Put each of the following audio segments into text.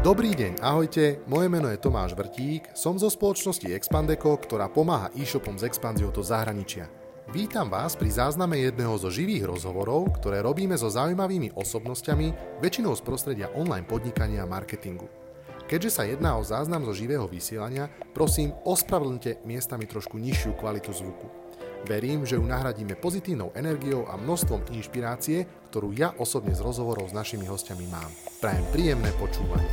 Dobrý deň, ahojte, moje meno je Tomáš Vrtík, som zo spoločnosti Expandeco, ktorá pomáha e-shopom s expanziou do zahraničia. Vítam vás pri zázname jedného zo živých rozhovorov, ktoré robíme so zaujímavými osobnosťami, väčšinou z prostredia online podnikania a marketingu. Keďže sa jedná o záznam zo živého vysielania, prosím, ospravedlňte miestami trošku nižšiu kvalitu zvuku. Verím, že ju nahradíme pozitívnou energiou a množstvom inšpirácie, ktorú ja osobne z rozhovorov s našimi hostiami mám. Prajem príjemné počúvanie.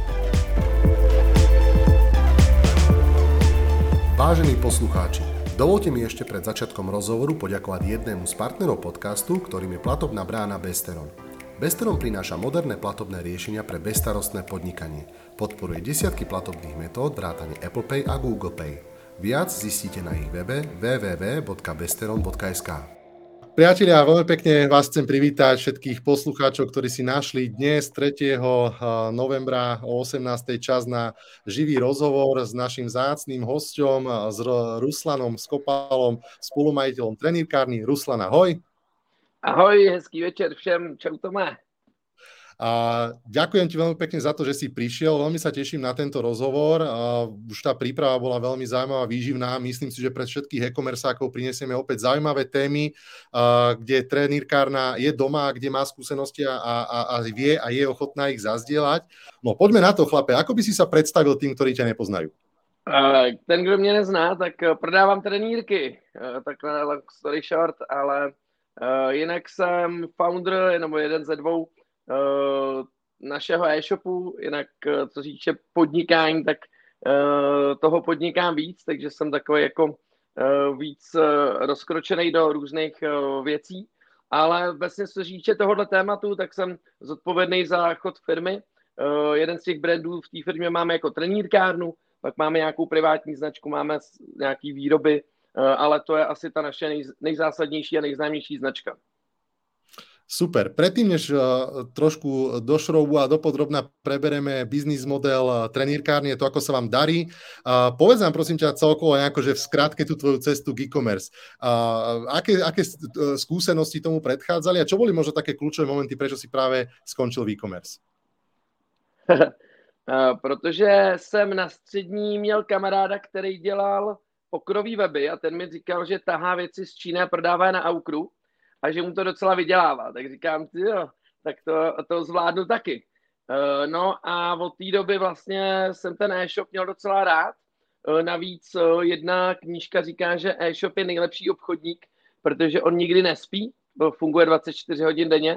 Vážení poslucháči, dovolte mi ešte pred začiatkom rozhovoru poďakovať jednému z partnerov podcastu, ktorým je platobná brána Besteron. Besteron prináša moderné platobné riešenia pre bezstarostné podnikanie. Podporuje desiatky platobných metód vrátane Apple Pay a Google Pay. Viac zistíte na ich webe www.besteron.sk. Priatelia, veľmi pekne vás chcem privítať všetkých poslucháčov, ktorí si našli dnes 3. novembra o 18. čas na živý rozhovor s našim vzácnym hosťom, s Ruslanom Skopalom, spolumajiteľom trenírkárny. Ruslan, ahoj. Ahoj, hezký večer všem, čau Tomé. A ďakujem ti veľmi pekne za to, že si prišiel. Veľmi sa teším na tento rozhovor. Už tá príprava bola veľmi zaujímavá, výživná. Myslím si, že pre všetkých e-commerceákov prinesieme opäť zaujímavé témy, kde trenírkárna je doma, kde má skúsenosti a vie a je ochotná ich zazdieľať. No poďme na to, chlape. Ako by si sa predstavil tým, ktorí ťa nepoznajú? Ten, kdo mě nezná, tak prodávám trenírky. Takhle long story short, ale jinak jsem founder, nebo jeden ze dvou našeho e-shopu, jinak co říče podnikání, tak toho podnikám víc, takže jsem takový jako víc rozkročený do různých věcí, ale vlastně co říče tohohle tématu, tak jsem zodpovědný za chod firmy. Jeden z těch brandů v té firmě máme jako trenírkárnu, pak máme nějakou privátní značku, máme nějaký výroby, ale to je asi ta naše nejzásadnější a nejznámější značka. Super. Predtým, než trošku do šroubu a dopodrobna prebereme biznis model trenírkárne, to, ako sa vám darí, povedz nám, prosím ťa, celkovo nejako, že v skratke tú tvoju cestu k e-commerce. Aké skúsenosti tomu predchádzali a čo boli možno také kľúčové momenty, prečo si práve skončil v e-commerce? Protože jsem na střední měl kamaráda, který dělal okrový weby a ten mi říkal, že tahá věci z Číny a prodává na Aukru a že mu to docela vydělává. Tak říkám, tak to zvládnu taky. No a od té doby vlastně jsem ten e-shop měl docela rád. Navíc jedna knížka říká, že e-shop je nejlepší obchodník, protože on nikdy nespí, funguje 24 hodin denně,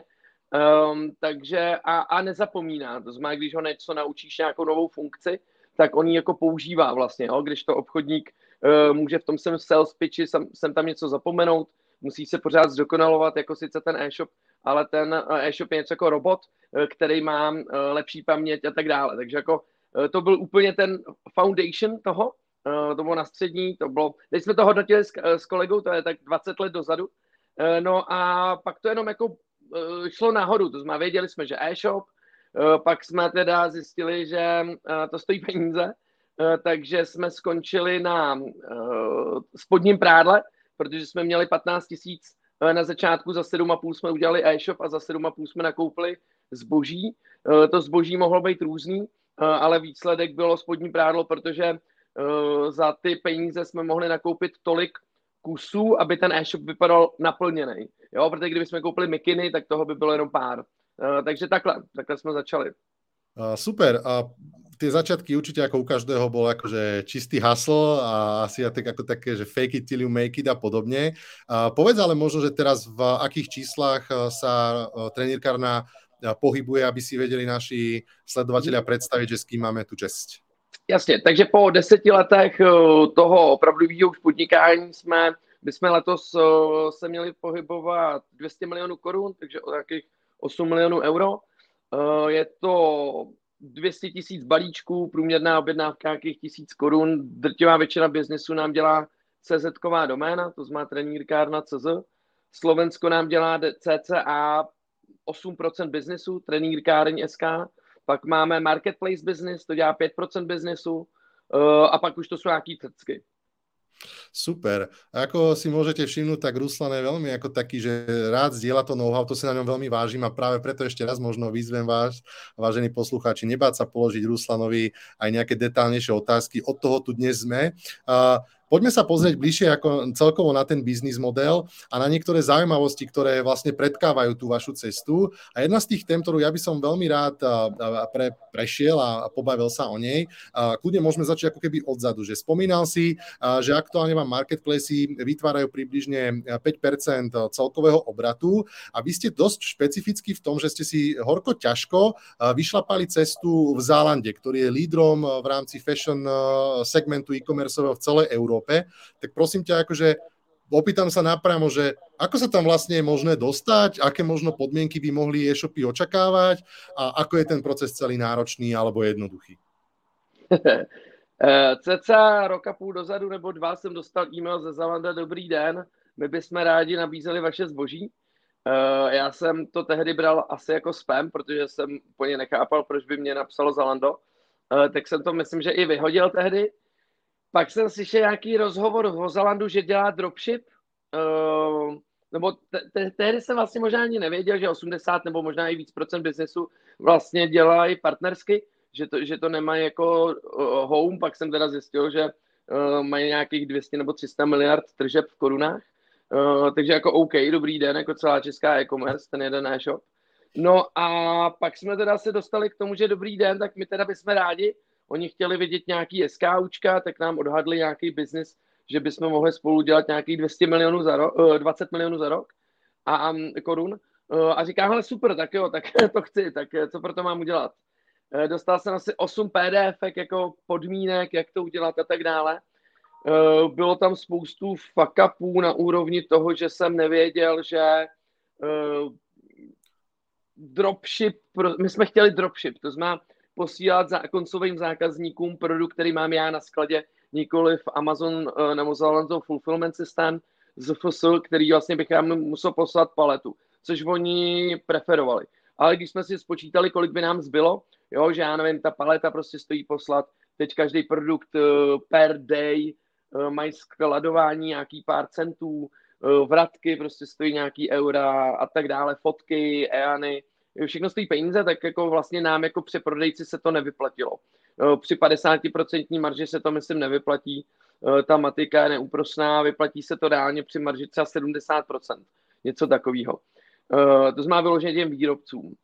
takže a nezapomíná. To znamená, když ho něco naučíš nějakou novou funkci, tak on ji jako používá vlastně. Jo? Když to obchodník může v tom sales pitchi sem tam něco zapomenout, musí se pořád zdokonalovat, jako sice ten e-shop, ale ten e-shop je něco jako robot, který má lepší paměť a tak dále. Takže jako to byl úplně ten foundation toho, to bylo na střední, to bylo, teď jsme to hodnotili s kolegou, to je tak 20 let dozadu, no a pak to jenom jako šlo nahoru, to znamená, věděli jsme, že e-shop, pak jsme teda zjistili, že to stojí peníze, takže jsme skončili na spodním prádle, protože jsme měli 15 000 na začátku, za 7,5 jsme udělali e-shop a za 7,5 jsme nakoupili zboží. To zboží mohlo být různý, ale výsledek bylo spodní prádlo, protože za ty peníze jsme mohli nakoupit tolik kusů, aby ten e-shop vypadal naplněný. Jo, protože kdyby jsme koupili mikiny, tak toho by bylo jenom pár. Takže takhle jsme začali. Super. Tie začiatky určite ako u každého bol akože čistý hustle a asi ako také, že fake it till you make it a podobne. Povedz ale možno, že teraz v akých číslach sa trenírkárna pohybuje, aby si vedeli naši sledovatelia predstaviť, že s kým máme tu česť. Jasně, takže po 10 letech toho opravdového už podnikání bychom letos se měli pohybovat 200 milionů korun, takže o takých 8 milionů euro. Je to 200 000 balíčků, průměrná objednávka nějakých 1000 korun. Drtivá většina biznesu nám dělá CZ-ková doména, to znamená trenírkárna.cz. Slovensko nám dělá cca 8% biznesu, trenírkárň.sk. Pak máme marketplace business, to dělá 5% biznesu a pak už to jsou nějaký trcky. Super. Ako si môžete všimnúť, tak Ruslan je veľmi ako taký, že rád zdieľa to know-how, to si na ňom veľmi vážim a práve preto ešte raz možno vyzvem vás, vážení poslucháči, nebáť sa položiť Ruslanovi aj nejaké detálnejšie otázky. Od toho tu dnes sme. Poďme sa pozrieť bližšie ako celkovo na ten biznis model a na niektoré zaujímavosti, ktoré vlastne predkávajú tú vašu cestu. A jedna z tých tém, ktorú ja by som veľmi rád prešiel a pobavil sa o nej, kľudne môžeme začať ako keby odzadu, že spomínal si, že aktuálne vám marketplacy vytvárajú približne 5% celkového obratu a vy ste dosť špecificky v tom, že ste si horko ťažko vyšlapali cestu v Zálande, ktorý je lídrom v rámci fashion segmentu e-commerceového v celej Európe. Tak prosím ťa, akože opýtam sa napriamo, že ako sa tam vlastne je možné dostať, aké možno podmienky by mohli e-shopy očakávať a ako je ten proces celý náročný alebo jednoduchý? Cca rok a půl dozadu nebo 2 jsem dostal e-mail ze Zalanda: dobrý den, my bychom rádi nabízeli vaše zboží. Já jsem to tehdy bral asi jako spam, protože jsem úplně nechápal, proč by mě napsalo Zalando. Tak jsem to myslím, že i vyhodil tehdy. Pak jsem slyšel nějaký rozhovor o Zalandu, že dělá dropship, nebo tehdy jsem vlastně možná ani nevěděl, že 80 nebo možná i víc procent biznesu vlastně dělají partnersky, že to nemají jako home. Pak jsem teda zjistil, že mají nějakých 200 nebo 300 miliard tržeb v korunách, takže jako OK, dobrý den, jako celá česká e-commerce, ten jeden e-shop. No a pak jsme teda se dostali k tomu, že dobrý den, tak my teda bychom rádi. Oni chtěli vidět nějaký SKUčka, tak nám odhadli nějaký biznis, že bychom mohli spolu dělat nějakých 20 milionů za rok a korun. A říkám, hele super, tak jo, tak to chci, tak co pro to mám udělat? Dostal jsem asi 8 PDF jako podmínek, jak to udělat a tak dále. Bylo tam spoustu fuck upů na úrovni toho, že jsem nevěděl, že dropship, my jsme chtěli dropship, to znamená posílat koncovým zákazníkům produkt, který mám já na skladě, nikoli v Amazon nebo Zalando Fulfillment System z FSL, který vlastně bych já musel poslat paletu, což oni preferovali. Ale když jsme si spočítali, kolik by nám zbylo, jo, že já nevím, ta paleta prostě stojí poslat, teď každý produkt per day, mají skladování nějaký pár centů, vratky prostě stojí nějaký eura a tak dále, fotky, EANy, všechno stojí peníze, tak jako vlastně nám jako přeprodejci se to nevyplatilo. Při 50% marži se to myslím nevyplatí, ta matika je neúprosná, vyplatí se to reálně při marži třeba 70%, něco takového. To znamená vyloženě těm výrobcům.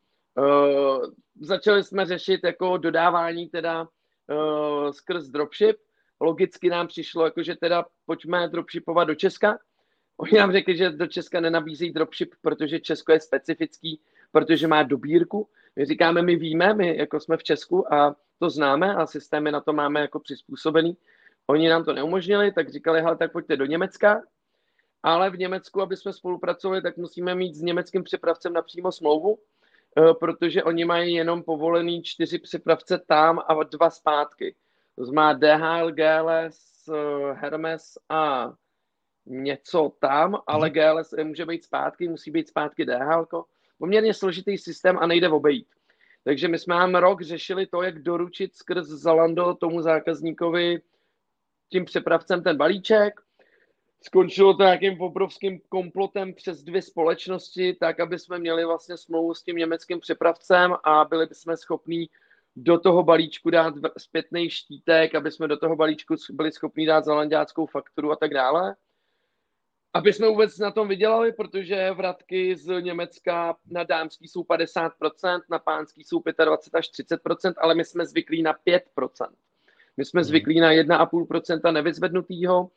Začali jsme řešit jako dodávání teda skrz dropship. Logicky nám přišlo, jako, že teda pojďme dropshipovat do Česka. Oni nám řekli, že do Česka nenabízejí dropship, protože Česko je specifický, protože má dobírku. My říkáme, my víme, my jako jsme v Česku a to známe a systémy na to máme jako přizpůsobený. Oni nám to neumožnili, tak říkali, hele, tak pojďte do Německa, ale v Německu, aby jsme spolupracovali, tak musíme mít s německým přepravcem napřímo smlouvu, protože oni mají jenom povolený 4 přepravce tam a 2 zpátky. To znamená DHL, GLS, Hermes a něco tam, ale GLS může být zpátky, musí být zpátky DHL. Poměrně složitý systém a nejde obejít. Takže my jsme nám rok řešili to, jak doručit skrz Zalando tomu zákazníkovi tím přepravcem ten balíček. Skončilo to nějakým obrovským komplotem přes 2 společnosti, tak, aby jsme měli vlastně smlouvu s tím německým přepravcem a byli jsme schopní do toho balíčku dát zpětný štítek, aby jsme do toho balíčku byli schopni dát zalanďáckou fakturu a tak dále. Aby jsme vůbec na tom vydělali, protože vratky z Německa na dámský jsou 50%, na pánský jsou 25 až 30%, ale my jsme zvyklí na 5%. My jsme zvyklí na 1,5% nevyzvednutýho,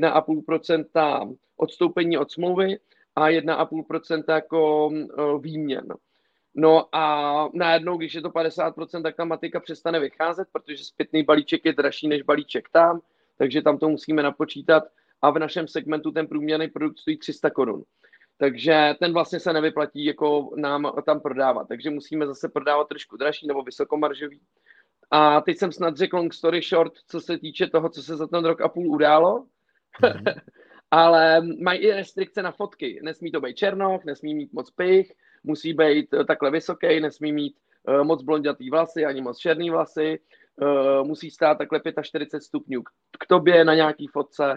1,5% odstoupení od smlouvy a 1,5% jako výměn. No a najednou, když je to 50%, tak ta matika přestane vycházet, protože zpětný balíček je dražší než balíček tam, takže tam to musíme napočítat a v našem segmentu ten průměrný produkt stojí 300 korun. Takže ten vlastně se nevyplatí jako nám tam prodávat, takže musíme zase prodávat trošku dražší nebo vysokomaržový. A teď jsem snad řekl long story short, co se týče toho, co se za ten rok a půl událo. Ale mají i restrikce na fotky. Nesmí to být černoch, nesmí mít moc pych, musí být takhle vysoký, nesmí mít moc blondětý vlasy, ani moc černý vlasy, musí stát takhle 45 stupňů k tobě na nějaký fotce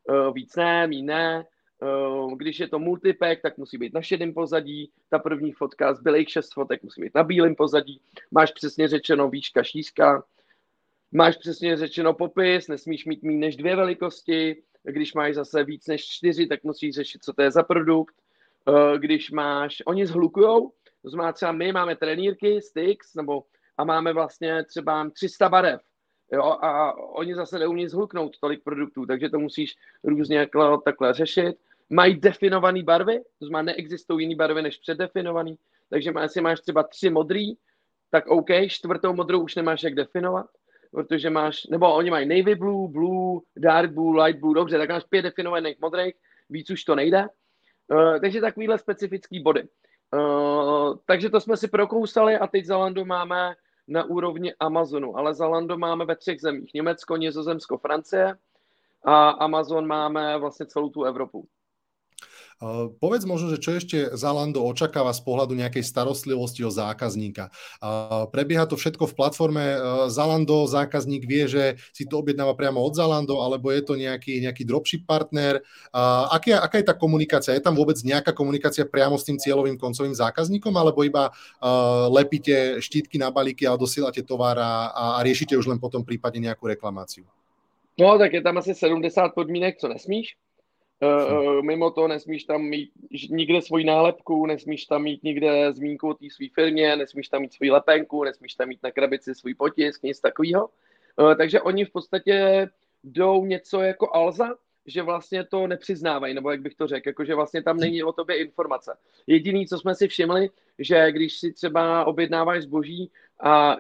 víc ne, míň ne. Když je to multipack, tak musí být na šedém pozadí, ta první fotka, zbylejch 6 fotek musí být na bílém pozadí, máš přesně řečeno výška, šířka, máš přesně řečeno popis, nesmíš mít méně než 2 velikosti, když máš zase víc než 4, tak musíš řešit, co to je za produkt. Když máš, oni zhlukujou, to znamená třeba my máme trenýrky, sticks, a máme vlastně třeba 300 barev, jo, a oni zase neumí zhluknout tolik produktů, takže to musíš různě takhle řešit. Mají definované barvy, to znamená neexistují jiné barvy než předdefinované, takže jestli máš třeba 3 modrý, tak OK, 4. modrou už nemáš jak definovat, protože nebo oni mají navy blue, dark blue, light blue, dobře, tak máš 5 definovaných modrých, víc už to nejde. Takže takovýhle specifický body. Takže to jsme si prokousali a teď Zalando máme na úrovni Amazonu, ale Zalando máme ve 3 zemích. Německo, Nizozemsko, Francie a Amazon máme vlastně celou tu Evropu. Povedz možno, že čo ešte Zalando očakáva z pohľadu nejakej starostlivosti o zákazníka. Prebieha to všetko v platforme Zalando, zákazník vie, že si to objednáva priamo od Zalando, alebo je to nejaký dropship partner. Aká je tá komunikácia? Je tam vôbec nejaká komunikácia priamo s tým cieľovým koncovým zákazníkom, alebo iba lepíte štítky na balíky a dosielate tovar a riešite už len potom prípadne nejakú reklamáciu? No, tak je tam asi 70 podmínek, co nesmíš. Mimo to nesmíš tam mít nikde svoji nálepku, nesmíš tam mít nikde zmínku o té své firmě, nesmíš tam mít svoji lepenku, nesmíš tam mít na krabici svůj potisk, nic takového. Takže oni v podstatě jdou něco jako Alza, že vlastně to nepřiznávají, nebo jak bych to řekl, jakože vlastně tam není o tobě informace. Jediný, co jsme si všimli, že když si třeba objednáváš zboží a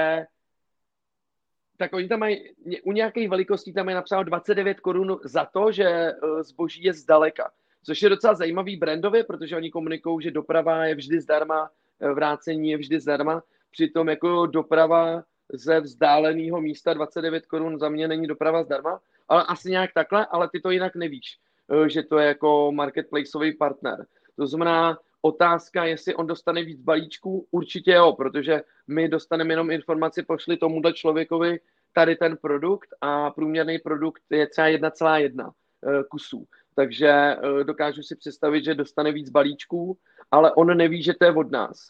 tak oni tam mají, u nějakých velikostí tam je napsáno 29 korun za to, že zboží je zdaleka. Což je docela zajímavý brandově, protože oni komunikují, že doprava je vždy zdarma, vrácení je vždy zdarma. Přitom jako doprava ze vzdáleného místa 29 korun za mě není doprava zdarma, ale asi nějak takhle, ale ty to jinak nevíš, že to je jako marketplaceový partner. To znamená, otázka, jestli on dostane víc balíčků, určitě jo, protože my dostaneme jenom informaci, pošli tomuhle člověkovi tady ten produkt a průměrný produkt je třeba 1,1 kusů. Takže dokážu si představit, že dostane víc balíčků, ale on neví, že to je od nás.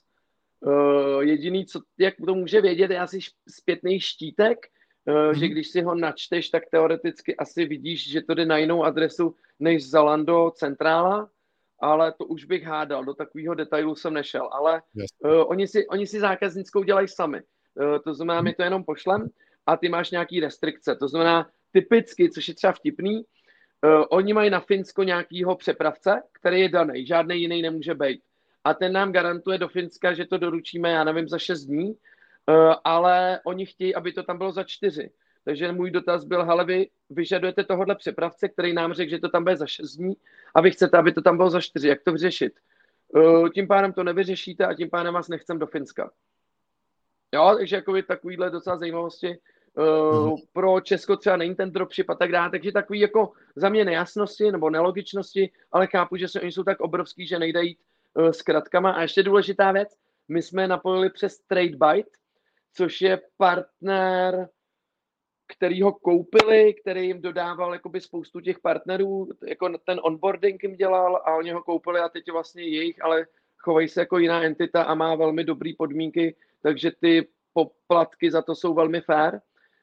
Jediný, jak to může vědět, je asi zpětný štítek, že když si ho načteš, tak teoreticky asi vidíš, že to jde na jinou adresu než Zalando centrála, ale to už bych hádal, do takového detailu jsem nešel, ale oni si zákaznickou dělají sami. To znamená, my to jenom pošlem a ty máš nějaký restrikce. To znamená, typicky, což je třeba vtipný, oni mají na Finsko nějakýho přepravce, který je daný, žádný jiný nemůže být. A ten nám garantuje do Finska, že to doručíme, já nevím, za 6 dní, ale oni chtějí, aby to tam bylo za 4. Takže můj dotaz byl, hele, vy vyžadujete tohohle přepravce, který nám řekl, že to tam bude za 6 dní a vy chcete, aby to tam bylo za 4. Jak to vyřešit? Tím pádem to nevyřešíte a tím pádem vás nechcem do Finska. Jo, takže jako takovýhle docela zajímavosti. Pro Česko třeba není ten dropship a tak dále, takže takový jako za mě nejasnosti nebo nelogičnosti, ale chápu, že oni jsou tak obrovský, že nejde jít s kratkama. A ještě důležitá věc, my jsme napojili přes TradeByte, což je partner, který ho koupili, který jim dodával jakoby spoustu těch partnerů, jako ten onboarding jim dělal a oni ho koupili a teď je vlastně jejich, ale chovají se jako jiná entita a má velmi dobré podmínky, takže ty poplatky za to jsou velmi fair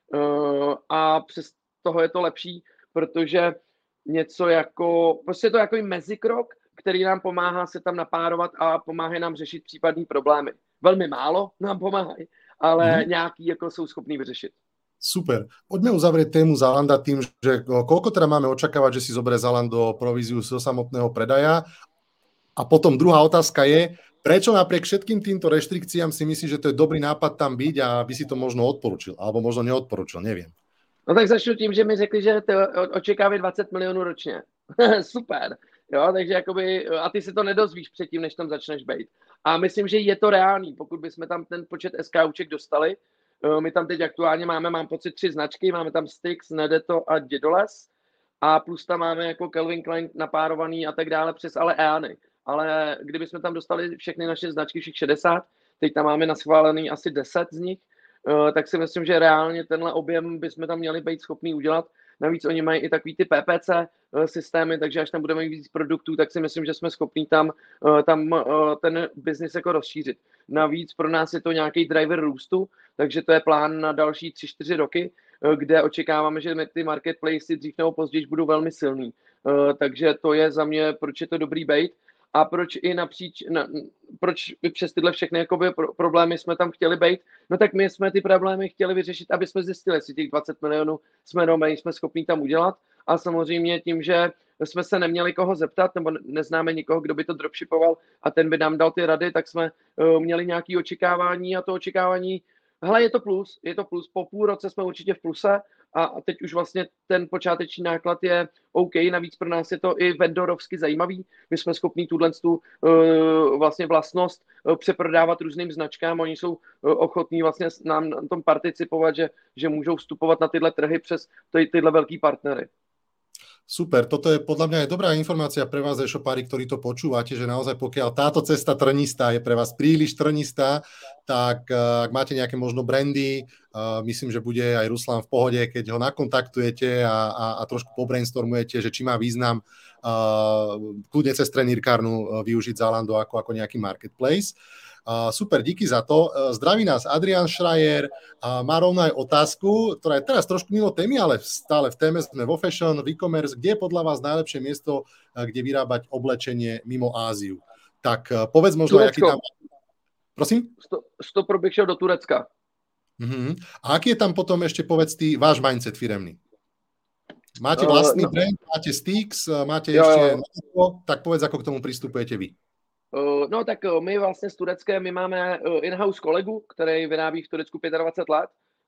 a přes toho je to lepší, protože něco jako, prostě je to jako mezikrok, který nám pomáhá se tam napárovat a pomáhá nám řešit případné problémy. Velmi málo nám pomáhají, ale nějaký jako jsou schopní vyřešit. Super. Poďme uzavrieť tému Zalanda tým, že koľko teda máme očakávať, že si zoberie Zalando províziu zo samotného predaja. A potom druhá otázka je, prečo napriek všetkým týmto reštrikciám si myslíš, že to je dobrý nápad tam byť a by si to možno odporučil, alebo možno neodporučil, neviem. No tak začnu tím, že mi řekli, že to očekávají 20 milionů ročně. Super. Jo, takže jakoby, a ty se to nedozvíš předtím, než tam začneš bejt. A myslím, že je to reálný, pokud bychom tam ten počet SKUček dostali. My tam teď aktuálně mám pocit 3 značky, máme tam Styx, Nedeto a Dědoles a plus tam máme jako Calvin Klein napárovaný a tak dále přes ale EANy. Ale kdybychom tam dostali všechny naše značky, všech 60, teď tam máme naschválený asi 10 z nich, tak si myslím, že reálně tenhle objem bychom tam měli být schopný udělat. Navíc oni mají i takový ty PPC systémy, takže až tam budeme mít víc produktů, tak si myslím, že jsme schopní tam ten biznis jako rozšířit. Navíc pro nás je to nějaký driver růstu, takže to je plán na další 3-4 roky, kde očekáváme, že ty marketplacy dřív nebo později budou velmi silný. Takže to je za mě, proč je to dobrý bait a proč i proč přes tyhle všechny jakoby problémy jsme tam chtěli bejt. No tak my jsme ty problémy chtěli vyřešit, aby jsme zjistili, jestli těch 20 milionů jsme schopní tam udělat. A samozřejmě tím, že jsme se neměli koho zeptat, nebo neznáme nikoho, kdo by to dropshipoval a ten by nám dal ty rady, tak jsme měli nějaké očekávání a to očekávání, hele, je to plus, po půl roce jsme určitě v pluse a teď už vlastně ten počáteční náklad je OK, navíc pro nás je to i vendorovsky zajímavý, my jsme schopní vlastně vlastnost přeprodávat různým značkám, oni jsou ochotní vlastně nám na tom participovat, že můžou vstupovat na tyhle trhy přes tyhle velký partnery. Super, toto je podľa mňa aj dobrá informácia pre vás, e-shopári, ktorí to počúvate, že naozaj pokiaľ táto cesta trnistá je pre vás príliš trnistá, tak ak máte nejaké možno brandy, myslím, že bude aj Ruslan v pohode, keď ho nakontaktujete a trošku pobrainstormujete, že či má význam kľudne cez trenírkárnu využiť Zalando ako nejaký marketplace. Super, díky za to. Zdraví nás Adrian Schreier a má rovno aj otázku, ktorá je teraz trošku mimo témy, ale stále v téme, sme vo fashion, v e-commerce. Kde je podľa vás najlepšie miesto, kde vyrábať oblečenie mimo Áziu? Tak povedz možno, aký tam... Prosím? Stopro bych šel do Turecka. Uh-huh. A aký je tam potom ešte, povedz ty, váš mindset firemný? Máte vlastný brand, máte Stix, máte ešte... Tak povedz, ako k tomu pristupujete vy. No tak my vlastně s Tureckem, my máme in-house kolegu, který vyrábí v Turecku 25 let,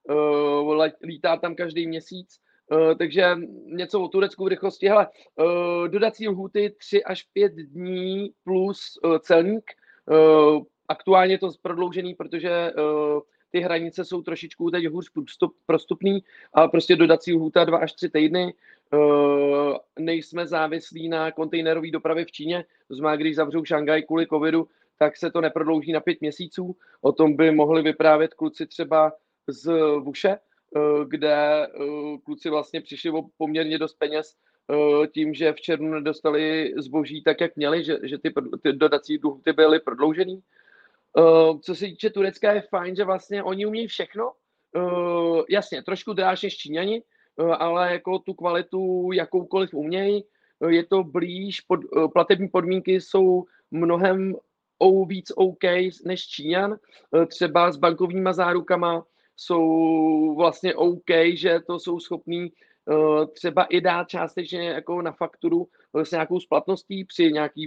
lítá tam každý měsíc, takže něco o Turecku v rychlosti. Hele, dodací lhůty 3 až 5 dní plus celník. Aktuálně je to prodloužený, protože ty hranice jsou trošičku teď hůř prostupný, ale prostě dodací lhůta 2 až 3 týdny. Nejsme závislí na kontejnerové dopravě v Číně, to znamená, když zavřou Šangaj kvůli covidu, tak se to neprodlouží na 5 měsíců. O tom by mohli vyprávět kluci třeba z Vuše, kde kluci vlastně přišli o poměrně dost peněz tím, že v červnu nedostali zboží tak, jak měli, že ty dodací lhůty byly prodloužený. Co se týče Turecka, je fajn, že vlastně oni umějí všechno. Jasně, trošku dráž než Číňani, ale jako tu kvalitu jakoukoliv umějí. Je to blíž, platební podmínky jsou mnohem víc OK než Číňan. Třeba s bankovníma zárukama jsou vlastně OK, že to jsou schopní třeba i dát částečně jako na fakturu s nějakou splatností při nějaký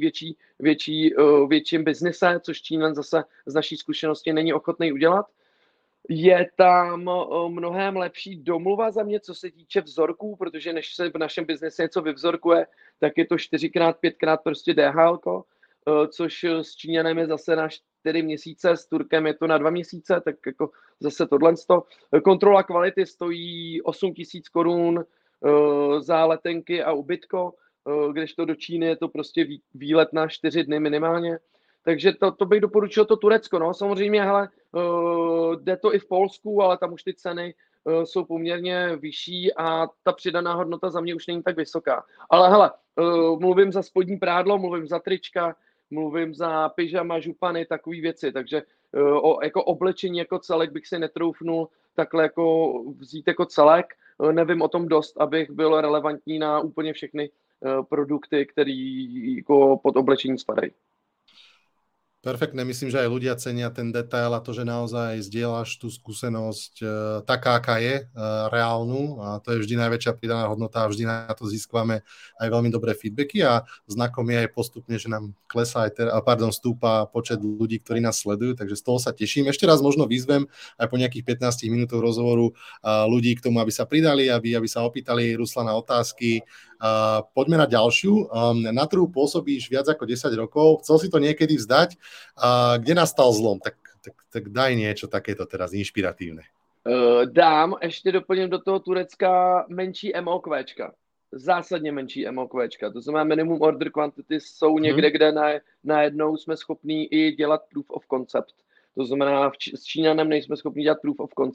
větším biznise, což Číňan zase z naší zkušenosti není ochotný udělat. Je tam mnohem lepší domluva za mě, co se týče vzorků, protože než se v našem biznese něco vyvzorkuje, tak je to 4x, 5x prostě DHL, což s Číňanem je zase na 4 měsíce, s Turkem je to na 2 měsíce, tak jako zase tohle. Kontrola kvality stojí 8 000 korun za letenky a ubytko, kdežto do Číny je to prostě výlet na 4 dny minimálně. Takže to bych doporučil to Turecko. No. Samozřejmě, hele, jde to i v Polsku, ale tam už ty ceny jsou poměrně vyšší a ta přidaná hodnota za mě už není tak vysoká. Ale hele, mluvím za spodní prádlo, mluvím za trička, mluvím za pyžama, župany, takové věci. Takže jako oblečení jako celek bych si netroufnul takhle jako vzít jako celek. Nevím o tom dost, abych byl relevantní na úplně všechny produkty, které jako pod oblečení spadají. Perfektné, myslím, že aj ľudia cenia ten detail a to, že naozaj zdieľaš tú skúsenosť taká, aká je, reálnu, a to je vždy najväčšia pridaná hodnota a vždy na to získame aj veľmi dobré feedbacky a znakom je aj postupne, že nám klesá stúpa počet ľudí, ktorí nás sledujú, takže z toho sa teším. Ešte raz možno vyzvem aj po nejakých 15 minútoch rozhovoru ľudí k tomu, aby sa pridali, aby sa opýtali Ruslana otázky. Poďme na ďalšiu. Na trhu pôsobíš viac ako 10 rokov. Chcel si to niekedy vzdať. Kde nastal zlom? Tak daj niečo takéto teraz inšpiratívne. Dám, ještě doplním do toho Turecka menší MOQčka. Zásadně menší MOQčka. To znamená minimum order quantity jsou někde, kde najednou jsme schopní i dělat proof of concept. To znamená, s Číňanem nejsme schopni dělat proof of concept,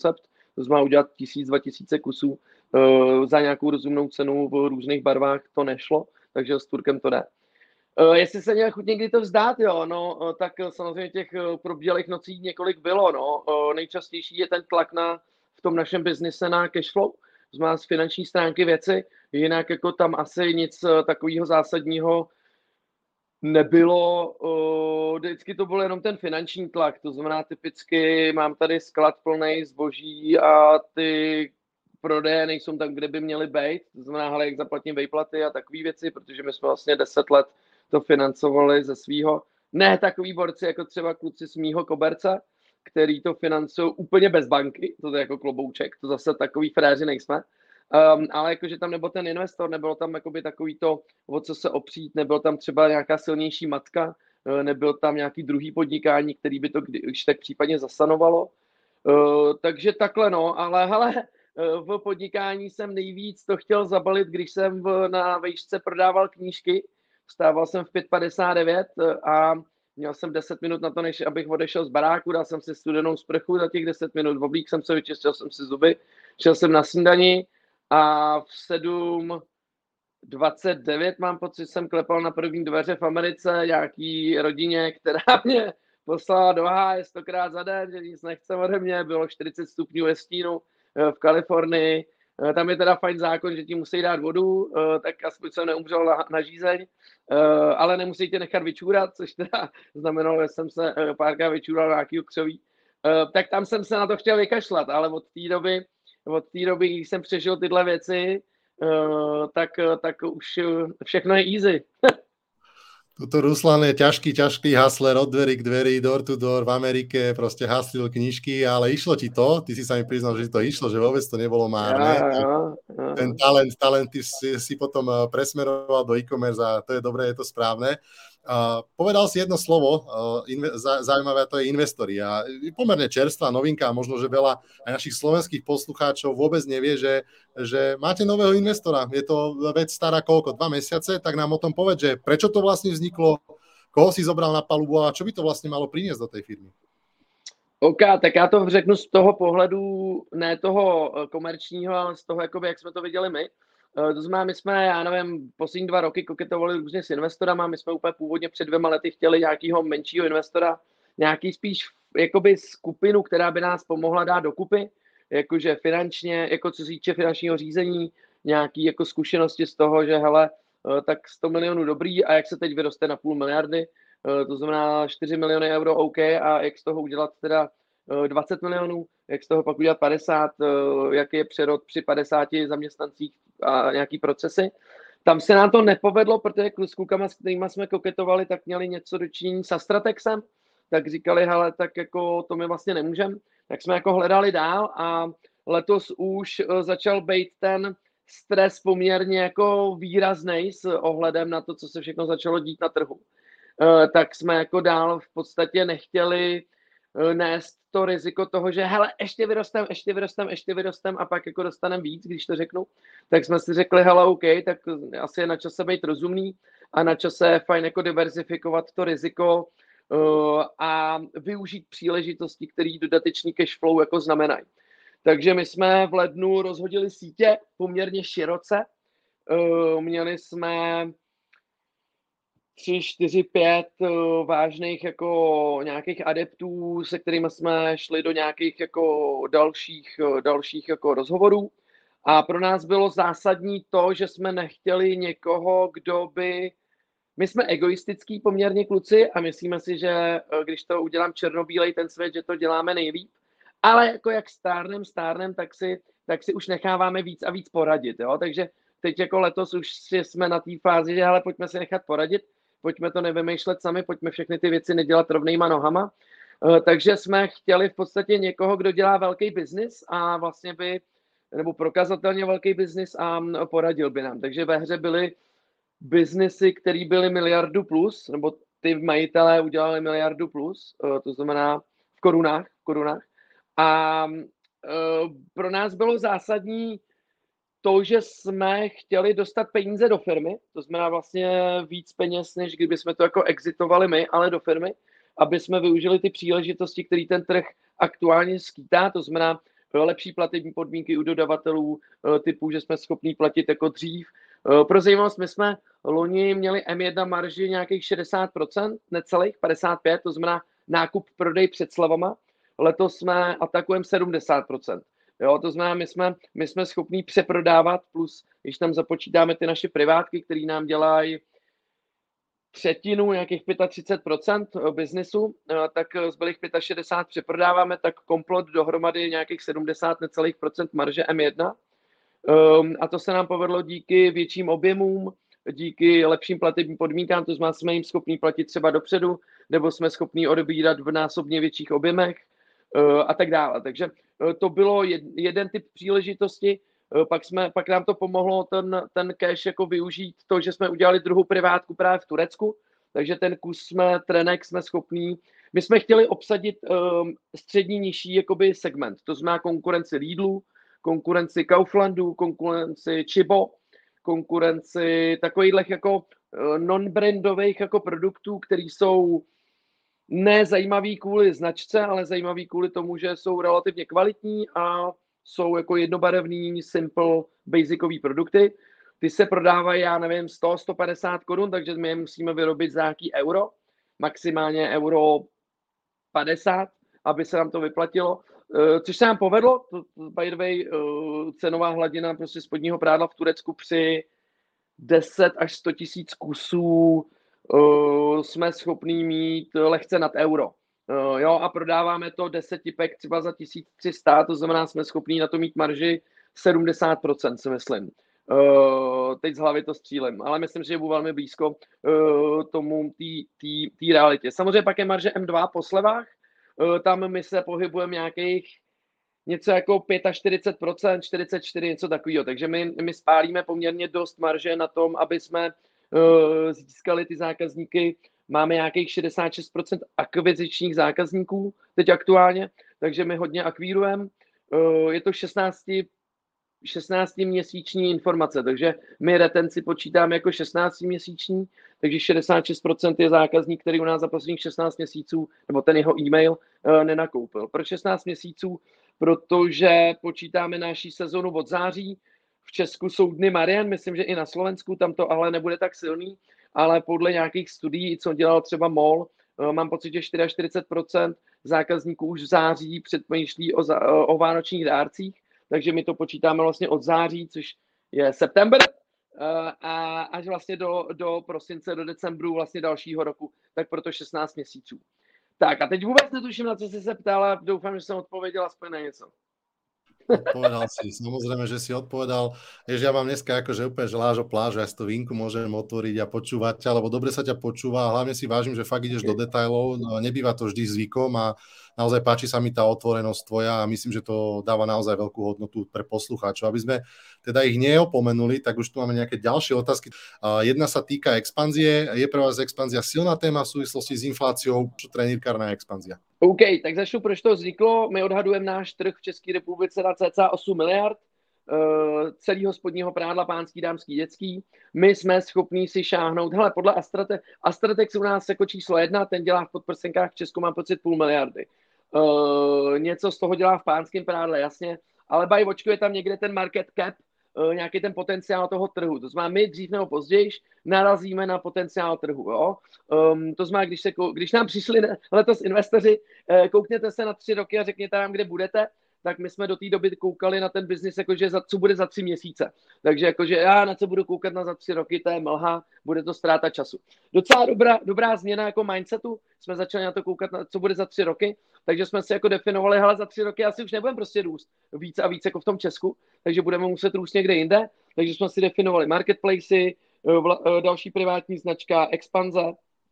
To znamená udělat 1000-2000 kusů za nějakou rozumnou cenu v různých barvách, to nešlo, takže s Turkem to jde. Jestli se měl chuť někdy to vzdát, jo, no, tak samozřejmě těch probdělých nocí několik bylo, no. Nejčastější je ten tlak v tom našem biznise na cashflow, to znamená z finanční stránky věci, jinak jako tam asi nic takového zásadního nebylo, vždycky to byl jenom ten finanční tlak, to znamená typicky mám tady sklad plný zboží a ty prodeje nejsou tam, kde by měly být, to znamená, hele, jak zaplatím vejplaty a takové věci, protože my jsme vlastně 10 let to financovali ze svýho, ne takový borci jako třeba kluci z mýho koberce, který to financují úplně bez banky, to je jako klobouček, to zase takový fréři nejsme, ale jakože tam nebyl ten investor, nebylo tam jakoby takový to, o co se opřít, nebyl tam třeba nějaká silnější matka, nebyl tam nějaký druhý podnikání, který by to když tak případně zasanovalo. Takže takhle no, ale hele, v podnikání jsem nejvíc to chtěl zabalit, když jsem na vejšce prodával knížky, vstával jsem v 5:59 a měl jsem 10 minut na to, než abych odešel z baráku, dal jsem si studenou sprchu za těch 10 minut, oblík jsem se, vyčistil jsem si zuby, šel jsem na snídani a v 7:29 mám pocit, jsem klepal na první dveře v Americe nějaký rodině, která mě poslala do háje 100krát za den, že nic nechce ode mě, bylo 40 stupňů ve stínu v Kalifornii. Tam je teda fajn zákon, že ti musí dát vodu, tak aspoň jsem neumřel na žízeň, ale nemusí tě nechat vyčůrat, což teda znamenalo, že jsem se párkrát vyčůral na nějaký křoví. Tak tam jsem se na to chtěl vykašlat, ale od té doby, když jsem přežil tyhle věci, tak už všechno je easy. Tuto Ruslan je ťažký hustler od dverí k dverí, door to door v Amerike, proste haslil knižky, ale išlo ti to, ty si sa mi priznal, že ti to išlo, že vôbec to nebolo márne. Ja. Ten talent ty si potom presmeroval do e-commerce a to je dobré, je to správne. Povedal si jedno slovo, zaujímavé, to je investori. A pomerne čerstvá novinka, a možno, že veľa aj našich slovenských poslucháčov vôbec nevie, že máte nového investora. Je to vec stará koľko? 2 mesiace? Tak nám o tom povedz, že prečo to vlastne vzniklo, koho si zobral na palubu a čo by to vlastne malo priniesť do tej firmy? OK, tak já to řeknu z toho pohledu, ne toho komerčního, ale z toho, jakoby, jak jsme to viděli my. To znamená, my jsme, já nevím, poslední 2 roky koketovali různě s investorama, my jsme úplně původně před 2 lety chtěli nějakého menšího investora, nějaký spíš jakoby skupinu, která by nás pomohla dát dokupy, jakože finančně, jako co se týče finančního řízení, nějaký jako zkušenosti z toho, že hele, tak 100 milionů dobrý a jak se teď vyroste na 500 miliardy, to znamená 4 miliony euro OK a jak z toho udělat teda 20 milionů, jak z toho pak udělat 50, jaký je přerod při 50 zaměstnancích a nějaký procesy. Tam se nám to nepovedlo, protože s klukama, s kterými jsme koketovali, tak měli něco dočinění s Astratexem, tak říkali, hele, tak jako to my vlastně nemůžeme. Tak jsme jako hledali dál a letos už začal být ten stres poměrně jako výraznej s ohledem na to, co se všechno začalo dít na trhu. Tak jsme jako dál v podstatě nechtěli nést to riziko toho, že hele, ještě vyrostem a pak jako dostaneme víc, když to řeknu. Tak jsme si řekli, hele, OK, tak asi je na čase být rozumný a na čase je fajn jako diverzifikovat to riziko a využít příležitosti, které dodatečný cash flow jako znamenají. Takže my jsme v lednu rozhodili sítě poměrně široce. Měli jsme 3, 4, 5 vážných jako nějakých adeptů, se kterými jsme šli do nějakých jako dalších jako rozhovorů. A pro nás bylo zásadní to, že jsme nechtěli někoho, kdo by... My jsme egoistický poměrně kluci a myslíme si, že když to udělám černobílej ten svět, že to děláme nejlíp. Ale jako jak stárnem, tak si už necháváme víc a víc poradit. Jo? Takže teď jako letos už jsme na té fázi, že hele, pojďme si nechat poradit, pojďme to nevymýšlet sami, pojďme všechny ty věci nedělat rovnejma nohama. Takže jsme chtěli v podstatě někoho, kdo dělá velký biznis a vlastně nebo prokazatelně velký biznis a poradil by nám. Takže ve hře byly biznesy, které byly miliardu plus, nebo ty majitelé udělali miliardu plus, to znamená v korunách. A pro nás bylo zásadní to, že jsme chtěli dostat peníze do firmy, to znamená vlastně víc peněz, než kdyby jsme to jako exitovali my, ale do firmy, aby jsme využili ty příležitosti, které ten trh aktuálně skýtá, to znamená lepší platební podmínky u dodavatelů typu, že jsme schopní platit jako dřív. Pro zajímavost, my jsme loni měli M1 marži nějakých 60%, necelých 55%, to znamená nákup, prodej před slevama. Letos jsme atakujeme 70%. Jo, to znamená, my jsme schopní přeprodávat, plus když tam započítáme ty naše privátky, které nám dělají třetinu, nějakých 35% biznesu, tak zbylých 65 přeprodáváme, tak komplot dohromady nějakých 70 necelých procent marže M1. A to se nám povedlo díky větším objemům, díky lepším platebním podmínkám, to znamená, jsme jim schopní platit třeba dopředu, nebo jsme schopní odebírat v násobně větších objemech a tak dále. Takže to bylo jeden typ příležitosti. Pak nám to pomohlo ten cash jako využít to, že jsme udělali druhou privátku právě v Turecku, takže ten kus trenek jsme schopní. My jsme chtěli obsadit střední nižší jakoby segment, to znamená konkurenci Lidlu, konkurenci Kauflandu, konkurenci Chibo, konkurenci takových jako non-brandových jako produktů, které jsou nezajímavý kvůli značce, ale zajímavý kvůli tomu, že jsou relativně kvalitní a jsou jako jednobarevný, simple, basicový produkty. Ty se prodávají, já nevím, 100-150 korun, takže my je musíme vyrobit za nějaký euro, maximálně euro 50, aby se nám to vyplatilo. Což se nám povedlo, by the way, cenová hladina prostě spodního prádla v Turecku při 10 až 100 tisíc kusů jsme schopní mít lehce nad euro. Jo, a prodáváme to 10 pack třeba za 1300, to znamená, jsme schopní na to mít marži 70%, si myslím. Teď z hlavy to střílím, ale myslím, že je velmi blízko tomu té realitě. Samozřejmě pak je marže M2 po slevách, tam my se pohybujeme nějakých něco jako 45%, 44%, něco takového. Takže my spálíme poměrně dost marže na tom, aby jsme získali ty zákazníky. Máme nějakých 66% akvizičních zákazníků teď aktuálně, takže my hodně akvírujeme. Je to 16-měsíční informace, takže my retenci počítáme jako 16-měsíční, takže 66% je zákazník, který u nás za posledních 16 měsíců, nebo ten jeho e-mail nenakoupil. Proč 16 měsíců? Protože počítáme naší sezonu od září. V Česku jsou dny Marian, myslím, že i na Slovensku, tam to ale nebude tak silný, ale podle nějakých studií, co dělal třeba MOL, mám pocit, že 44% zákazníků už v září předmýšlí o vánočních dárcích, takže my to počítáme vlastně od září, což je september, a až vlastně do prosince, do decembru vlastně dalšího roku, tak proto 16 měsíců. Tak a teď vůbec netuším, na co jsi se ptal, a doufám, že jsem odpověděl aspoň na něco. Odpovedal si, samozrejme, že si odpovedal. Jež ja mám dneska akože úplne želážo plážu, ja si to vínku môžem otvoriť a počúvať ťa, lebo dobre sa ťa počúva a hlavne si vážim, že fakt ideš do detailov, no, nebýva to vždy zvykom a naozaj páči sa mi tá otvorenosť tvoja a myslím, že to dáva naozaj veľkú hodnotu pre poslucháčov. Aby sme teda ich neopomenuli, tak už tu máme nejaké ďalšie otázky. Jedna sa týka expanzie. Je pre vás expanzia silná téma v súvislosti s infláciou? Trenírkárna expanzia. OK, tak začnu, proč to vzniklo. My odhadujeme náš trh v České republice na cca 8 miliard celého spodního prádla pánský, dámský, dětský. My jsme schopní si šáhnout, hele, podle Astratex u nás jako číslo 1, ten dělá v podprsenkách v Česku, mám pocit 0,5 miliardy. Něco z toho dělá v pánském prádle, jasně, ale očkuje tam někde ten market cap, nějaký ten potenciál toho trhu. To znamená, my dřív nebo později narazíme na potenciál trhu. Jo? To znamená, když nám přišli letos investoři, koukněte se na 3 roky a řekněte nám, kde budete, tak my jsme do té doby koukali na ten biznis, jakože co bude za 3 měsíce. Takže jakože já na co budu koukat za 3 roky, to je mlha, bude to ztráta času. Docela dobrá změna jako mindsetu, jsme začali na to koukat, na co bude za 3 roky, takže jsme si jako definovali, hele, za 3 roky asi už nebudeme prostě růst víc a víc jako v tom Česku, takže budeme muset růst někde jinde, takže jsme si definovali marketplacy, další privátní značka, expanze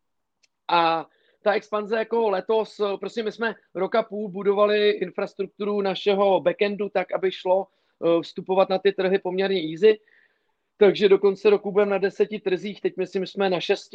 a ta expanze jako letos, prostě my jsme roka půl budovali infrastrukturu našeho backendu tak, aby šlo vstupovat na ty trhy poměrně easy, takže do konce roku budeme na 10 trzích, teď myslím, že jsme na 6.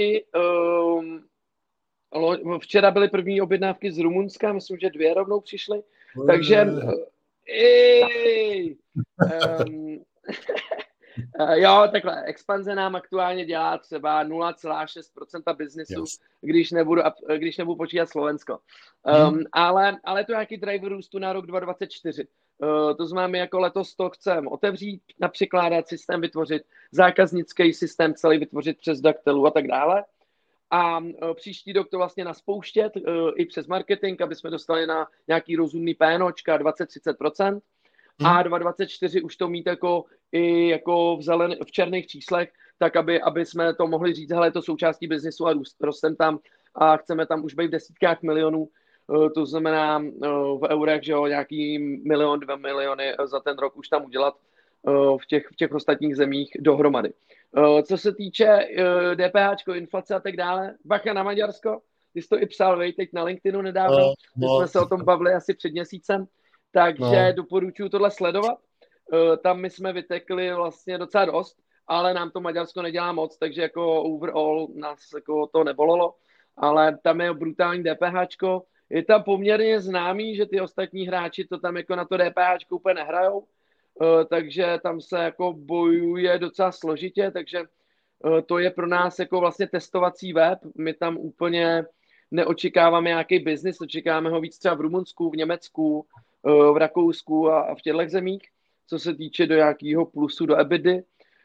Včera byly první objednávky z Rumunska, myslím, že 2 rovnou přišly, takže Jo, takhle, expanze nám aktuálně dělá třeba 0,6% biznesu, Yes. když nebudu počítat Slovensko. Ale to je nějaký driver růstu na rok 2024. To znamená, my jako letos to chceme otevřít, napřikládat systém, vytvořit zákaznický systém, celý vytvořit přes Daktelu a tak dále. A příští rok to vlastně naspouštět i přes marketing, aby jsme dostali na nějaký rozumný PNOčka 20-30%. A 2024 už to mít jako i jako v černých číslech, tak aby jsme to mohli říct, hele, je to součástí biznisu a rostem tam a chceme tam už být v desítkách milionů, to znamená v eurech, že jo, nějaký 1, 2 miliony za ten rok už tam udělat v těch ostatních zemích dohromady. Co se týče DPH, inflace a tak dále, bacha na Maďarsko, ty jsi to i psal, teď na LinkedInu nedávno, my jsme se o tom bavili asi před měsícem, takže doporučuji tohle sledovat. Tam my jsme vytekli vlastně docela dost, ale nám to Maďarsko nedělá moc, takže jako overall nás jako to nebolelo, ale tam je brutální DPHčko. Je tam poměrně známý, že ty ostatní hráči to tam jako na to DPHčko úplně nehrajou, takže tam se jako bojuje docela složitě, takže to je pro nás jako vlastně testovací web. My tam úplně neočekáváme nějaký biznis, očekáváme ho víc třeba v Rumunsku, v Německu, v Rakousku a v těchto zemích, co se týče do nějakého plusu do EBITDA.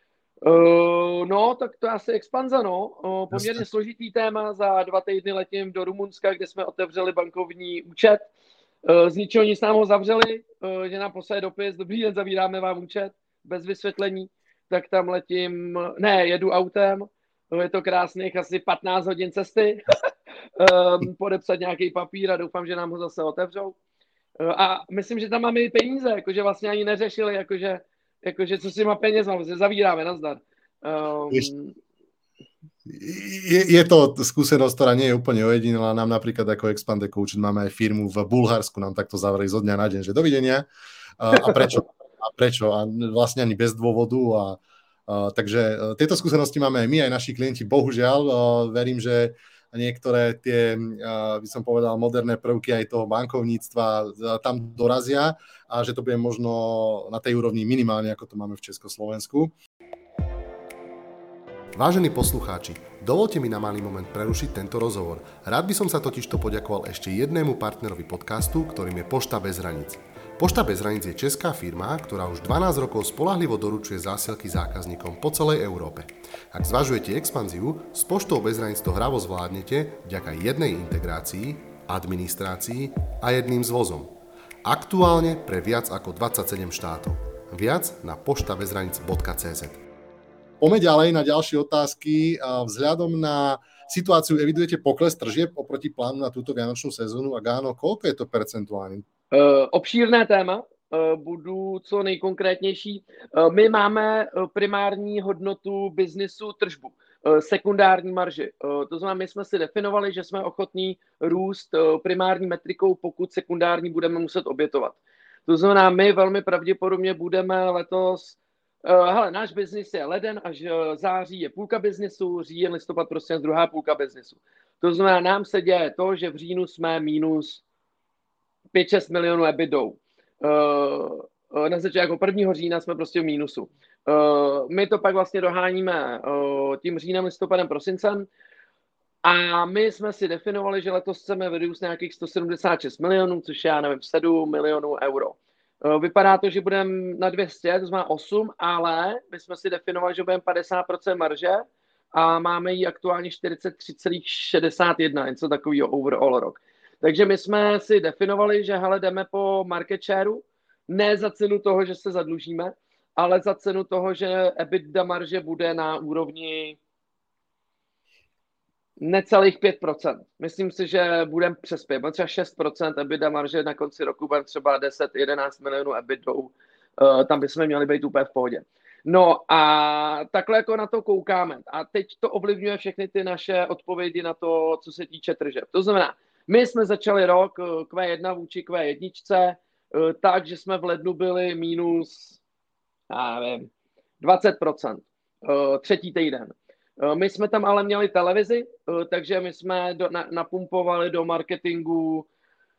No, tak to je asi expanze, no. Poměrně složitý téma, za 2 týdny letím do Rumunska, kde jsme otevřeli bankovní účet. Z ničeho nic nám ho zavřeli, že nám poslali dopis, dobrý den, zavíráme vám účet, bez vysvětlení, tak tam letím, jedu autem, je to krásných asi 15 hodin cesty, podepsat nějaký papír a doufám, že nám ho zase otevřou. A myslím, že tam máme i peníze, jakože vlastně ani neřešili, jakože co s těma penězma, zavíráme, nazdar. Je to skúsenosť, ktorá nie je úplne ojedinelá. Nám napríklad ako Expande Coach máme aj firmu v Bulharsku, nám takto zavreli zo dňa na deň, že dovidenia. A prečo? A vlastne ani bez dôvodu. Takže tieto skúsenosti máme aj my, aj naši klienti. Bohužiaľ, verím, že niektoré tie, by som povedal, moderné prvky aj toho bankovníctva tam dorazia a že to bude možno na tej úrovni minimálne, ako to máme v Československu. Vážení poslucháči, dovolte mi na malý moment prerušiť tento rozhovor. Rád by som sa totižto poďakoval ešte jednému partnerovi podcastu, ktorým je Pošta bez hraníc. Pošta bez hraníc je česká firma, ktorá už 12 rokov spoľahlivo doručuje zásielky zákazníkom po celej Európe. Ak zvažujete expanziu, s Poštou bez hraníc to hravo zvládnete vďaka jednej integrácii, administrácii a jedným zvozom. Aktuálne pre viac ako 27 štátov. Viac na poštabezhranic.cz. Poďme ďalej na ďalšie otázky. Vzhľadom na situáciu evidujete pokles tržieb oproti plánu na túto vianočnú sezónu? Ak áno, koľko je to percentuálne? Obšírné téma, budu co nejkonkrétnější. My máme primární hodnotu biznisu tržbu, sekundární marži. To znamená, my jsme si definovali, že jsme ochotní růst primární metrikou, pokud sekundární budeme muset obětovat. To znamená, my velmi pravděpodobně budeme letos náš biznis je leden až září je půlka biznisu, říjen, listopad, prostě druhá půlka biznisu. To znamená, nám se děje to, že v říjnu jsme minus 5-6 milionů EBITDou. Na začátku 1. října jsme prostě v mínusu. My to pak vlastně doháníme tím říjnem, listopadem, prosincem a my jsme si definovali, že letos chceme vyrůst nějakých 176 milionů, což já nevím, 7 milionů euro. Vypadá to, že budeme na 200, to znamená 8, ale my jsme si definovali, že budeme 50% marže a máme ji aktuálně 43,61, něco takového overall rok. Takže my jsme si definovali, že hele, jdeme po market shareu, ne za cenu toho, že se zadlužíme, ale za cenu toho, že EBITDA marže bude na úrovni necelých 5%. Myslím si, že budeme přes 5, třeba 6% EBITDA marže na konci roku, budeme třeba 10-11 milionů EBITDou, tam bychom měli být úplně v pohodě. No a takhle jako na to koukáme. A teď to ovlivňuje všechny ty naše odpovědi na to, co se týče tržeb. To znamená, my jsme začali rok Q1 vůči Q1, tak, že jsme v lednu byli minus 20%, třetí týden. My jsme tam ale měli televizi, takže my jsme napumpovali do marketingu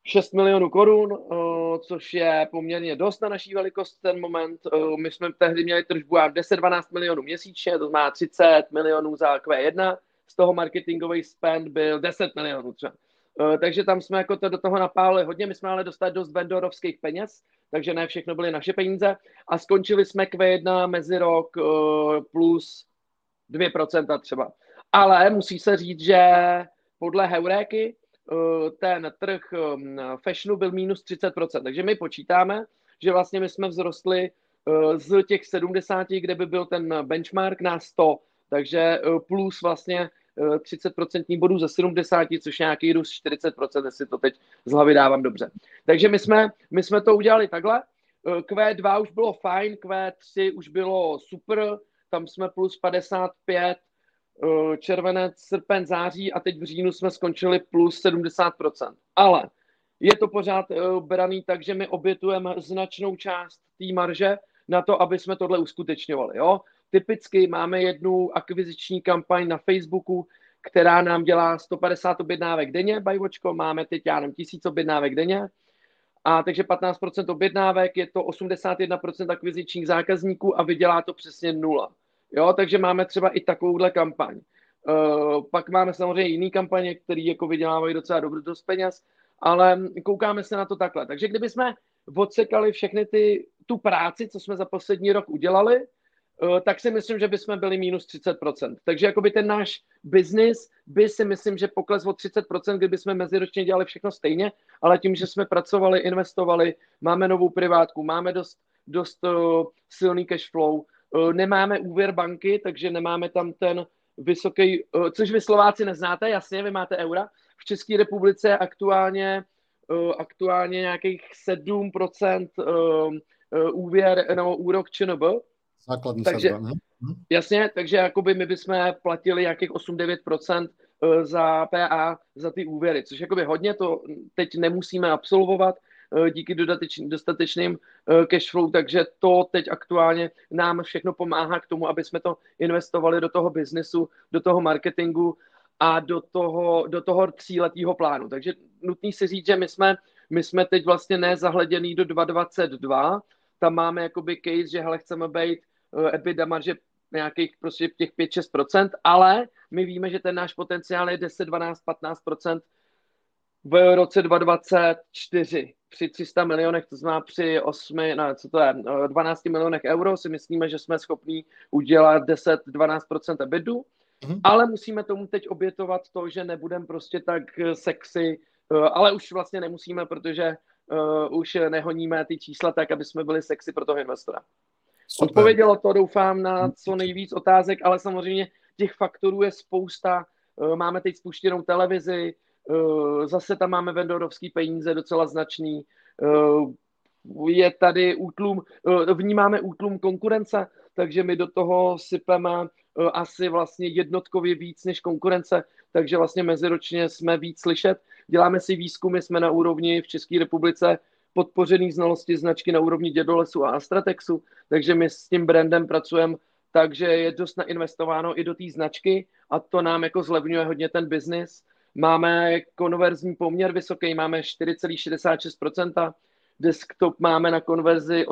6 milionů korun, což je poměrně dost na naší velikost ten moment. My jsme tehdy měli tržbu 10-12 milionů měsíčně, to znamená 30 milionů za Q1, z toho marketingový spend byl 10 milionů třeba. Takže tam jsme jako to do toho napálili hodně, my jsme ale dostali dost vendorovských peněz, takže ne všechno byly naše peníze a skončili jsme Q1 mezi rok plus 2% třeba. Ale musí se říct, že podle Heuréky ten trh fashionu byl minus 30%. Takže my počítáme, že vlastně my jsme vzrostli z těch 70, kde by byl ten benchmark, na 100. Takže plus vlastně 30% bodů ze 70, což je nějaký růst 40%, jestli to teď z hlavy dávám dobře. Takže my jsme to udělali takhle. Q2 už bylo fajn, Q3 už bylo super, tam jsme plus 55, červenec, srpen, září a teď v říjnu jsme skončili plus 70%. Ale je to pořád braný tak, že my obětujeme značnou část té marže na to, aby jsme tohle uskutečňovali. Jo? Typicky máme jednu akviziční kampaň na Facebooku, která nám dělá 150 objednávek denně, bajvočko, máme teď, já nevím, 1000 objednávek denně, a takže 15% objednávek, je to 81% akvizičních zákazníků a vydělá to přesně 0. Jo, takže máme třeba i takovouhle kampaň. Pak máme samozřejmě jiný kampaně, které jako vydělávají docela dost peněz, ale koukáme se na to takhle. Takže kdyby jsme odsekali všechny tu práci, co jsme za poslední rok udělali, tak si myslím, že bychom byli minus 30%. Takže jakoby ten náš biznis by si myslím, že pokles o 30%, kdyby jsme meziročně dělali všechno stejně, ale tím, že jsme pracovali, investovali, máme novou privátku, máme dost silný cash flow, nemáme úvěr banky, takže nemáme tam ten vysoký, což vy Slováci neznáte, jasně, vy máte eura. V České republice je aktuálně nějakých 7% úvěr nebo úrok ČNB. Základní takže, sazba. Jasně, takže jakoby my bychom platili nějakých 8-9% za PA, za ty úvěry, což jakoby hodně, to teď nemusíme absolvovat díky dostatečným cash flow, takže to teď aktuálně nám všechno pomáhá k tomu, aby jsme to investovali do toho biznesu, do toho marketingu a do toho 3letého plánu. Takže nutný si říct, že my jsme teď vlastně nezahleděný do 2022, tam máme jakoby case, že hele, chceme být EBITDA marže nějakých prostě těch 5-6%, ale my víme, že ten náš potenciál je 10, 12, 15% v roce 2024 při 300 milionech, to znamená při 12 milionech euro si myslíme, že jsme schopní udělat 10-12% EBITu, ale musíme tomu teď obětovat to, že nebudeme prostě tak sexy, ale už vlastně nemusíme, protože už nehoníme ty čísla tak, aby jsme byli sexy pro toho investora. Super. Odpovědělo to, doufám, na co nejvíc otázek, ale samozřejmě těch faktorů je spousta. Máme teď spuštěnou televizi, zase tam máme vendorovský peníze docela značný. Je tady útlum, vnímáme útlum konkurence, takže my do toho sypeme asi vlastně jednotkově víc než konkurence, takže vlastně meziročně jsme víc slyšet. Děláme si výzkumy, jsme na úrovni v České republice podpořený znalosti značky na úrovni Dědolesu a Astratexu, takže my s tím brandem pracujeme tak, že je dost nainvestováno i do té značky a to nám jako zlevňuje hodně ten biznis. Máme konverzní poměr vysoký, máme 4,66%, desktop máme na konverzi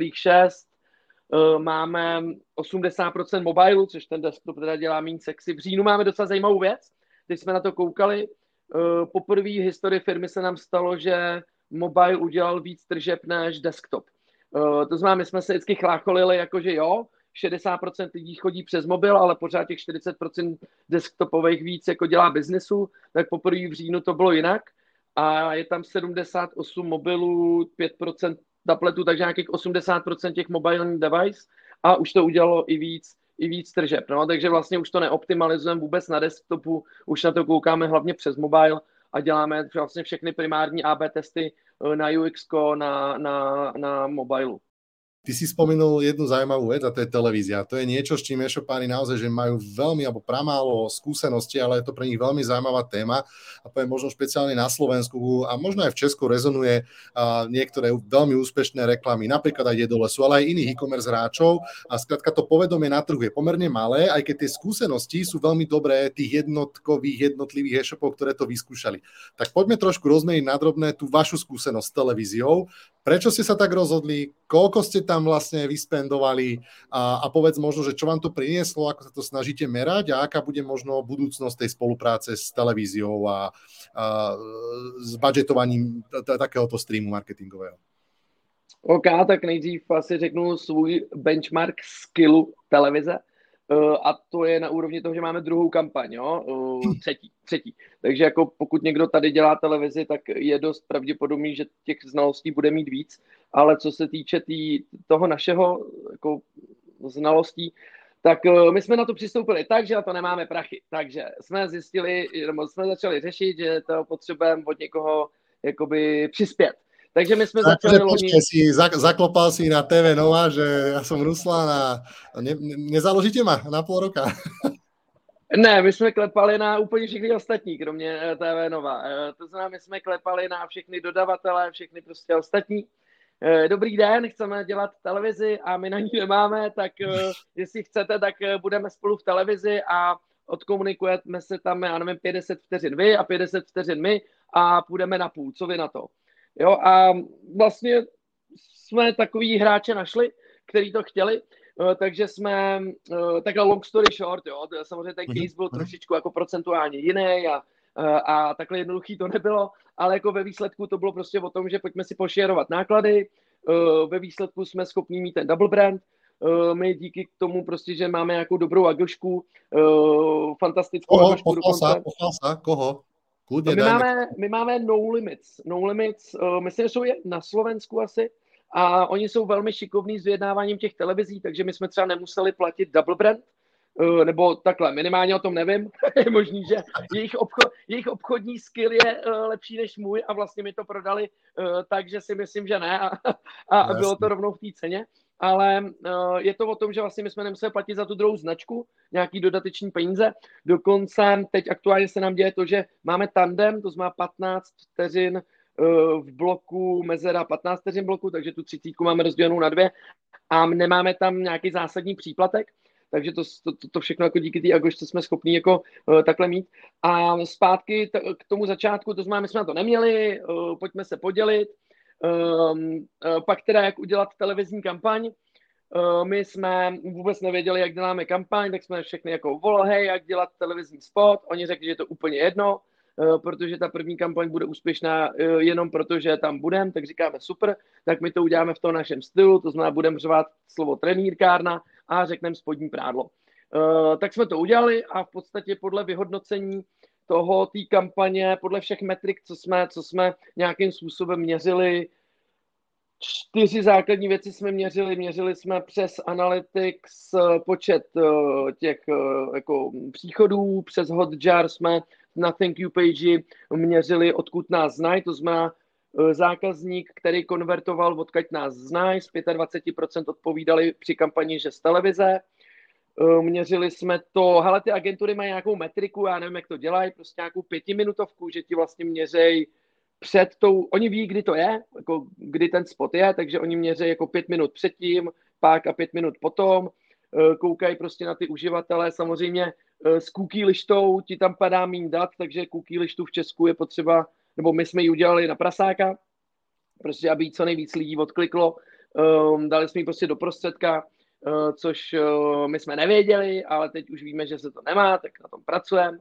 8,6%, máme 80% mobilu, což ten desktop teda dělá méně sexy. V říjnu máme docela zajímavou věc, když jsme na to koukali. Poprvé v historii firmy se nám stalo, že mobile udělal víc tržeb než desktop. To znamená, my jsme se vždycky chlácholili, jakože jo, 60% lidí chodí přes mobil, ale pořád těch 40% desktopových víc jako dělá biznesu, tak poprvé v říjnu to bylo jinak a je tam 78 mobilů, 5% tabletů, takže nějakých 80% těch mobilních device a už to udělalo i víc tržeb. No? Takže vlastně už to neoptimalizujeme vůbec na desktopu, už na to koukáme hlavně přes mobile a děláme vlastně všechny primární AB testy na UX, na mobilu. Ty si spomenul jednu zaujímavú vec a to je televízia. To je niečo, s čím e-shopári naozaj, že majú veľmi alebo pramálo skúsenosti, ale je to pre nich veľmi zaujímavá téma a poviem možno špeciálne na Slovensku a možno aj v Česku rezonuje niektoré veľmi úspešné reklamy, napríklad aj Jedolesu, ale aj iných e-commerce hráčov a skrátka to povedomie na trhu je pomerne malé, aj keď tie skúsenosti sú veľmi dobré tých jednotlivých e-shopov, ktoré to vyskúšali. Tak poďme trošku rozmeniť na drobné tú vašu skúsenosť s televíziou. Prečo ste sa tak rozhodli? Koľko ste tam vlastne vyspendovali a povedz možno, že čo vám to prinieslo, ako sa to snažíte merať a aká bude možno budúcnosť tej spolupráce s televíziou a s budžetovaním takéhoto streamu marketingového? OK, tak nejdřív asi řeknu svůj benchmark skillu televize. A to je na úrovni toho, že máme druhou kampaň, jo? Třetí. Takže jako pokud někdo tady dělá televizi, tak je dost pravděpodobný, že těch znalostí bude mít víc, ale co se týče toho našeho jako znalostí, tak my jsme na to přistoupili tak, že na to nemáme prachy. Takže jsme zjistili, nebo jsme začali řešit, že to potřebujeme od někoho jakoby přispět. Takže my jsme začali loni... Zaklopal si na TV Nova, že ja som Ruslan a nezaložíte ma na pol roka? Ne, my jsme klepali na úplně všechny ostatní, kromě TV Nova. To znamená, my jsme klepali na všechny dodavatele, všechny prostě ostatní. Dobrý den, chceme dělat televizi a my na ní nemáme, tak jestli chcete, tak budeme spolu v televizi a odkomunikujeme se tam, já nevím, 50 vteřin vy a 50 vteřin my a půjdeme na půl. Co vy na to? Jo, a vlastně jsme takový hráče našli, kteří to chtěli, takže jsme, takhle long story short, jo, samozřejmě ten case byl trošičku jako procentuálně jiný a takhle jednoduchý to nebylo, ale jako ve výsledku to bylo prostě o tom, že pojďme si pošerovat náklady, ve výsledku jsme schopni mít ten double brand, my díky tomu prostě, že máme nějakou dobrou agošku, fantastickou agošku dokonce. Koho? My máme No Limits. No Limits, myslím, že jsou na Slovensku asi a oni jsou velmi šikovní s vyjednáváním těch televizí, takže my jsme třeba nemuseli platit double brand, nebo takhle, minimálně o tom nevím. Je možný, že jejich obchodní skill je lepší než můj a vlastně mi to prodali takže si myslím, že ne a bylo to rovnou v té ceně. Ale je to o tom, že vlastně my jsme nemuseli platit za tu druhou značku nějaký dodateční peníze. Dokonce teď aktuálně se nám děje to, že máme tandem, to znamená 15 vteřin v bloku, mezera 15 vteřin bloku, takže tu 30 máme rozdělenou na 2 a nemáme tam nějaký zásadní příplatek, takže to všechno jako díky té agošce jsme schopni jako takhle mít. A zpátky k tomu začátku, to znamená, my jsme na to neměli, pojďme se podělit. Pak teda, jak udělat televizní kampaň. My jsme vůbec nevěděli, jak děláme kampaň, tak jsme všechny jako volali, hej, jak dělat televizní spot. Oni řekli, že je to úplně jedno, protože ta první kampaň bude úspěšná jenom proto, že tam budeme, tak říkáme super, tak my to uděláme v tom našem stylu, to znamená, budeme řvat slovo trenýrkárna a řekneme spodní prádlo. Tak jsme to udělali a v podstatě podle vyhodnocení té kampaně, podle všech metrik, co jsme nějakým způsobem měřili, 4 základní věci jsme měřili. Měřili jsme přes Analytics počet těch jako příchodů, přes Hotjar jsme na thank you page měřili, odkud nás znají, to znamená zákazník, který konvertoval, odkud nás znají, z 25% odpovídali při kampani, že z televize. Měřili jsme to, hele, ty agentury mají nějakou metriku, já nevím, jak to dělají, prostě nějakou 5minutovku, že ti vlastně měřejí před tou, oni ví, kdy to je, jako kdy ten spot je, takže oni měří jako 5 minut předtím, pak a 5 minut potom, koukají prostě na ty uživatele, samozřejmě s cookie lištou ti tam padá méně dat, takže cookie lištu v Česku je potřeba, nebo my jsme ji udělali na prasáka, prostě aby jí co nejvíc lidí odkliklo, dali jsme ji prostě do prostředka, což my jsme nevěděli, ale teď už víme, že se to nemá, tak na tom pracujeme.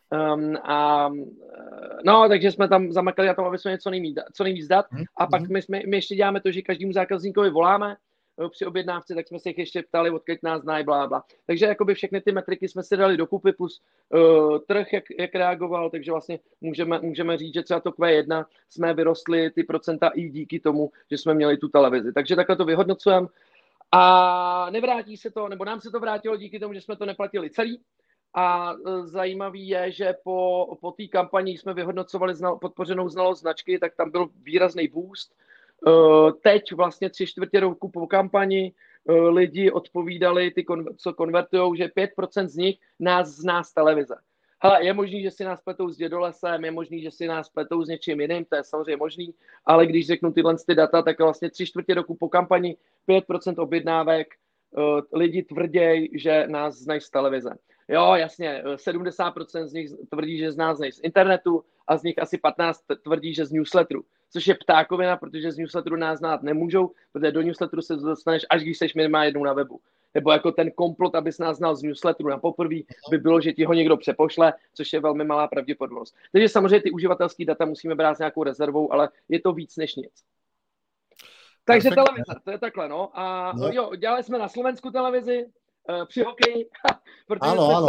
No, takže jsme tam zamakali na tom, aby jsme něco co nejvíc dát. A pak my ještě děláme to, že každému zákazníkovi voláme při objednávce, tak jsme se jich ještě ptali, odkud nás znají, blá. Takže jakoby všechny ty metriky jsme si dali dokupy, plus trh, jak reagoval, takže vlastně můžeme říct, že třeba to Q1 jsme vyrostli ty procenta i díky tomu, že jsme měli tu televizi. Takže takhle to vyhodnocujeme. A nevrátí se to, nebo nám se to vrátilo díky tomu, že jsme to neplatili celý. A zajímavý je, že po té kampani jsme vyhodnocovali podpořenou znalost značky, tak tam byl výrazný boost. Teď vlastně 3/4 roku po kampani lidi odpovídali, co konvertujou, že 5% z nich nás zná z televize. Hele, je možný, že si nás pletou s Dědolesem, je možný, že si nás pletou s něčím jiným, to je samozřejmě možný, ale když řeknu tyhle data, tak vlastně 3/4 roku po kampani 5% objednávek lidi tvrdějí, že nás znají z televize. Jo, jasně, 70% z nich tvrdí, že z nás znají z internetu a z nich asi 15 tvrdí, že z newsletteru. Což je ptákovina, protože z newsletteru nás znát nemůžou, protože do newsletteru se dostaneš, až když seš minimálně jednou na webu. Nebo jako ten komplot, abys nás znal z newsletteru na poprvé, by bylo, že ti ho někdo přepošle, což je velmi malá pravděpodobnost. Takže samozřejmě ty uživatelské data musíme brát s nějakou rezervou, ale je to víc než nic. Takže televize, to je takhle, no. A jo, dělali jsme na Slovensku televizi, při hokeji, protože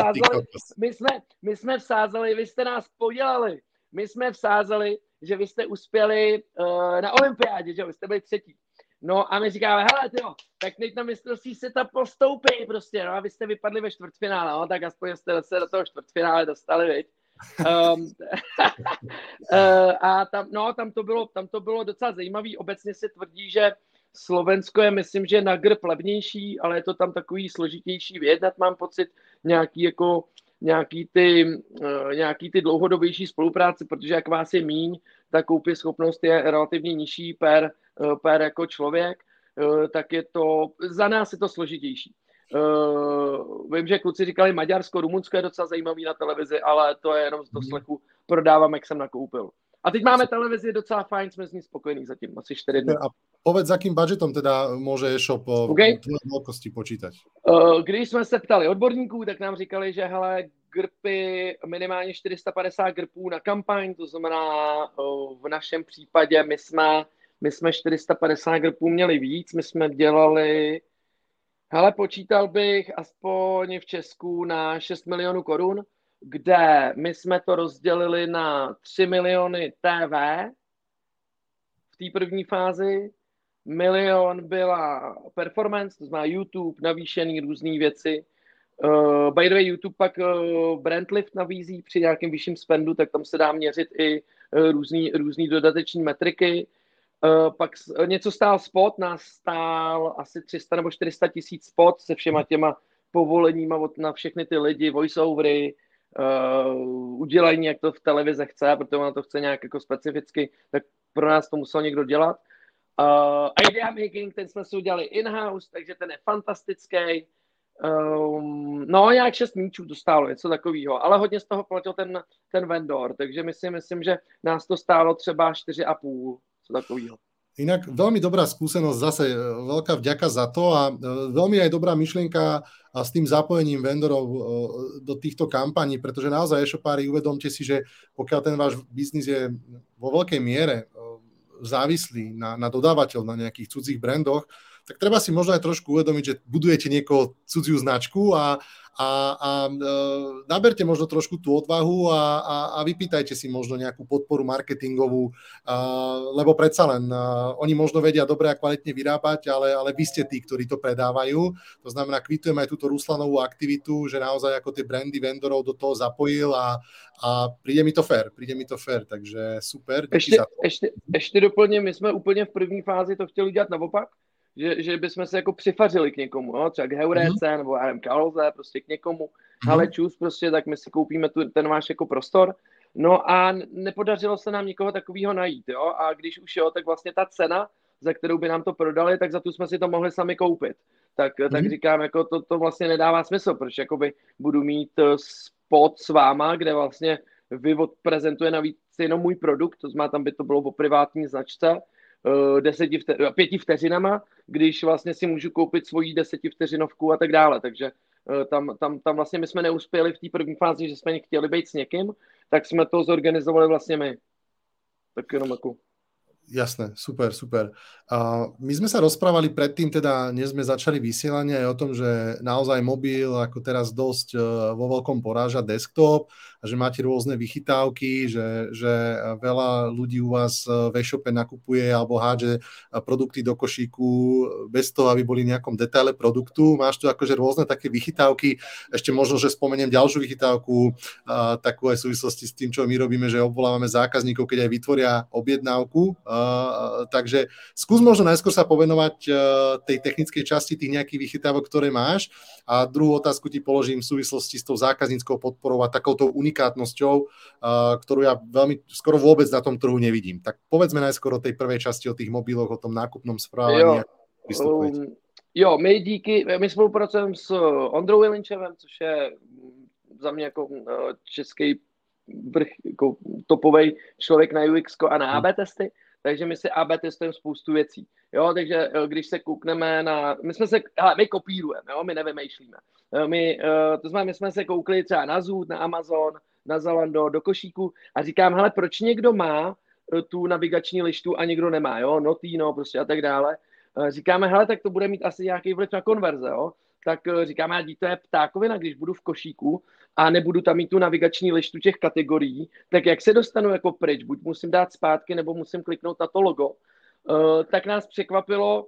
my jsme vsázeli, vy jste nás podělali, my jsme vsázeli, že vy jste uspěli na olympiádě, že vy jste byli 3. No a my říkáme, hele tyjo, tak teď na mistrovství světa postoupí prostě, no a vy jste vypadli ve čtvrtfinále, no, tak aspoň jste se do toho čtvrtfinále dostali, viď. A tam to bylo docela zajímavý, obecně se tvrdí, že Slovensko je, myslím, že na grb levnější, ale je to tam takový složitější vyjednat, mám pocit, nějaký ty dlouhodobější spolupráce, protože jak vás je míň, tak koupě schopnost je relativně nižší per jako člověk, tak je to, za nás je to složitější. Vím, že kluci říkali Maďarsko, Rumunsko je docela zajímavý na televizi, ale to je jenom z doslechu, prodávám, jak jsem nakoupil. A teď máme televizi docela fajn, jsme s ní spokojení zatím, asi 4 dny. A povedz, akým budžetom teda môže e-shop veľkosti počítať? Když jsme se ptali odborníků, tak nám říkali, že hele, grpy, minimálně 450 grpů na kampaň, to znamená v našem případě my jsme 450 grpů měli víc, my jsme dělali, hele, počítal bych aspoň v Česku na 6 milionů korun, kde my jsme to rozdělili na 3 miliony TV v té první fázi, 1 milion byla performance, to znamená YouTube, navýšený různé věci. By the way, YouTube pak Brandlift nabízí při nějakém vyšším spendu, tak tam se dá měřit i různý dodateční metriky. Pak něco stál spot, nás stál asi 300 nebo 400 tisíc spot se všema těma povoleníma na všechny ty lidi, voiceovery, udělání, jak to v televize chce, protože ona to chce nějak jako specificky, tak pro nás to musel někdo dělat. Idea making, ten jsme si udělali in-house, takže ten je fantastický. No, nějak 6 míčů to stálo, něco takového, ale hodně z toho platil ten vendor, takže myslím, že nás to stálo třeba 4,5, co takového. Inak veľmi dobrá skúsenosť, zase veľká vďaka za to a veľmi aj dobrá myšlienka a s tým zapojením vendorov do týchto kampaní, pretože naozaj e-shopári, uvedomte si, že pokiaľ ten váš biznis je vo veľkej miere závislý na dodávateľ, na nejakých cudzích brandoch, tak treba si možno aj trošku uvedomiť, že budujete niekoho cudziu značku a naberte možno trošku tú odvahu a vypýtajte si možno nejakú podporu marketingovú, lebo predsa len oni možno vedia dobre a kvalitne vyrábať, ale vy ste tí, ktorí to predávajú. To znamená, kvitujem aj túto Ruslanovú aktivitu, že naozaj ako tie brandy vendorov do toho zapojil a príde mi to fair, takže super. Ještě doplním, my jsme úplně v první fázi to chtěli dělat naopak, že bychom se jako přifařili k někomu, no? Třeba k Heuréce nebo Karolze, prostě k někomu, ale čus prostě, tak my si koupíme ten váš jako prostor. No a nepodařilo se nám nikoho takového najít, jo, a když už jo, tak vlastně ta cena, za kterou by nám to prodali, tak za tu jsme si to mohli sami koupit. Tak říkám, jako to vlastně nedává smysl, protože jakoby budu mít spot s váma, kde vlastně vy odprezentuje navíc jenom můj produkt, to znamená, tam by to bylo o privátní značce, 5 vteřinama, když vlastně si můžu koupit svoji 10 vteřinovku a tak dále, takže tam vlastně my jsme neuspěli v té první fázi, že jsme chtěli být s někým, tak jsme to zorganizovali vlastně my. Tak jenom jako... Jasné, super. My sme sa rozprávali predtým, teda než sme začali vysielanie aj o tom, že naozaj mobil ako teraz dosť vo veľkom poráža desktop a že máte rôzne vychytávky, že veľa ľudí u vás v e-shope nakupuje alebo hádže produkty do košíku bez toho, aby boli v nejakom detaile produktu. Máš tu akože rôzne také vychytávky. Ešte možno, že spomeniem ďalšiu vychytávku, takú aj v súvislosti s tým, čo my robíme, že obvolávame zákazníkov, keď aj vytvoria objednávku Takže skús možno najskôr sa povenovať tej technickej časti tých nejakých vychytávok, ktoré máš, a druhú otázku ti položím v súvislosti s tou zákazníckou podporou a takouto unikátnosťou, ktorú ja veľmi skoro vôbec na tom trhu nevidím. Tak povedzme najskôr o tej prvej časti, o tých mobiloch, o tom nákupnom správaní. My spolupracujeme s Ondrou Jelinčevem, což je za mě jako český vrch, jako topovej člověk na UX a na AB testy, takže my si AB testujeme spoustu věcí. Jo, takže když se koukneme na... My kopírujeme, jo, my nevymýšlíme. To znamená, my jsme se koukli třeba na Zoot, na Amazon, na Zalando, do košíku a říkám, hele, proč někdo má tu navigační lištu a někdo nemá, jo, Notino prostě a tak dále. Říkáme, hele, tak to bude mít asi nějaký vliv na konverze, jo. Tak říkáme, to je ptákovina, když budu v košíku a nebudu tam mít tu navigační lištu těch kategorií, tak jak se dostanu jako pryč? Buď musím dát zpátky, nebo musím kliknout na to logo. Tak nás překvapilo.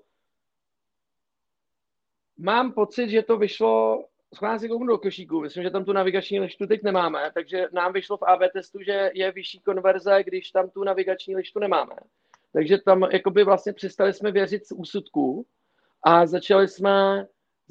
Mám pocit, že to vyšlo, schválně si kouknu do košíku, myslím, že tam tu navigační lištu teď nemáme, takže nám vyšlo v AB testu, že je vyšší konverze, když tam tu navigační lištu nemáme. Takže tam jakoby vlastně přestali jsme věřit z úsudků a začali jsme,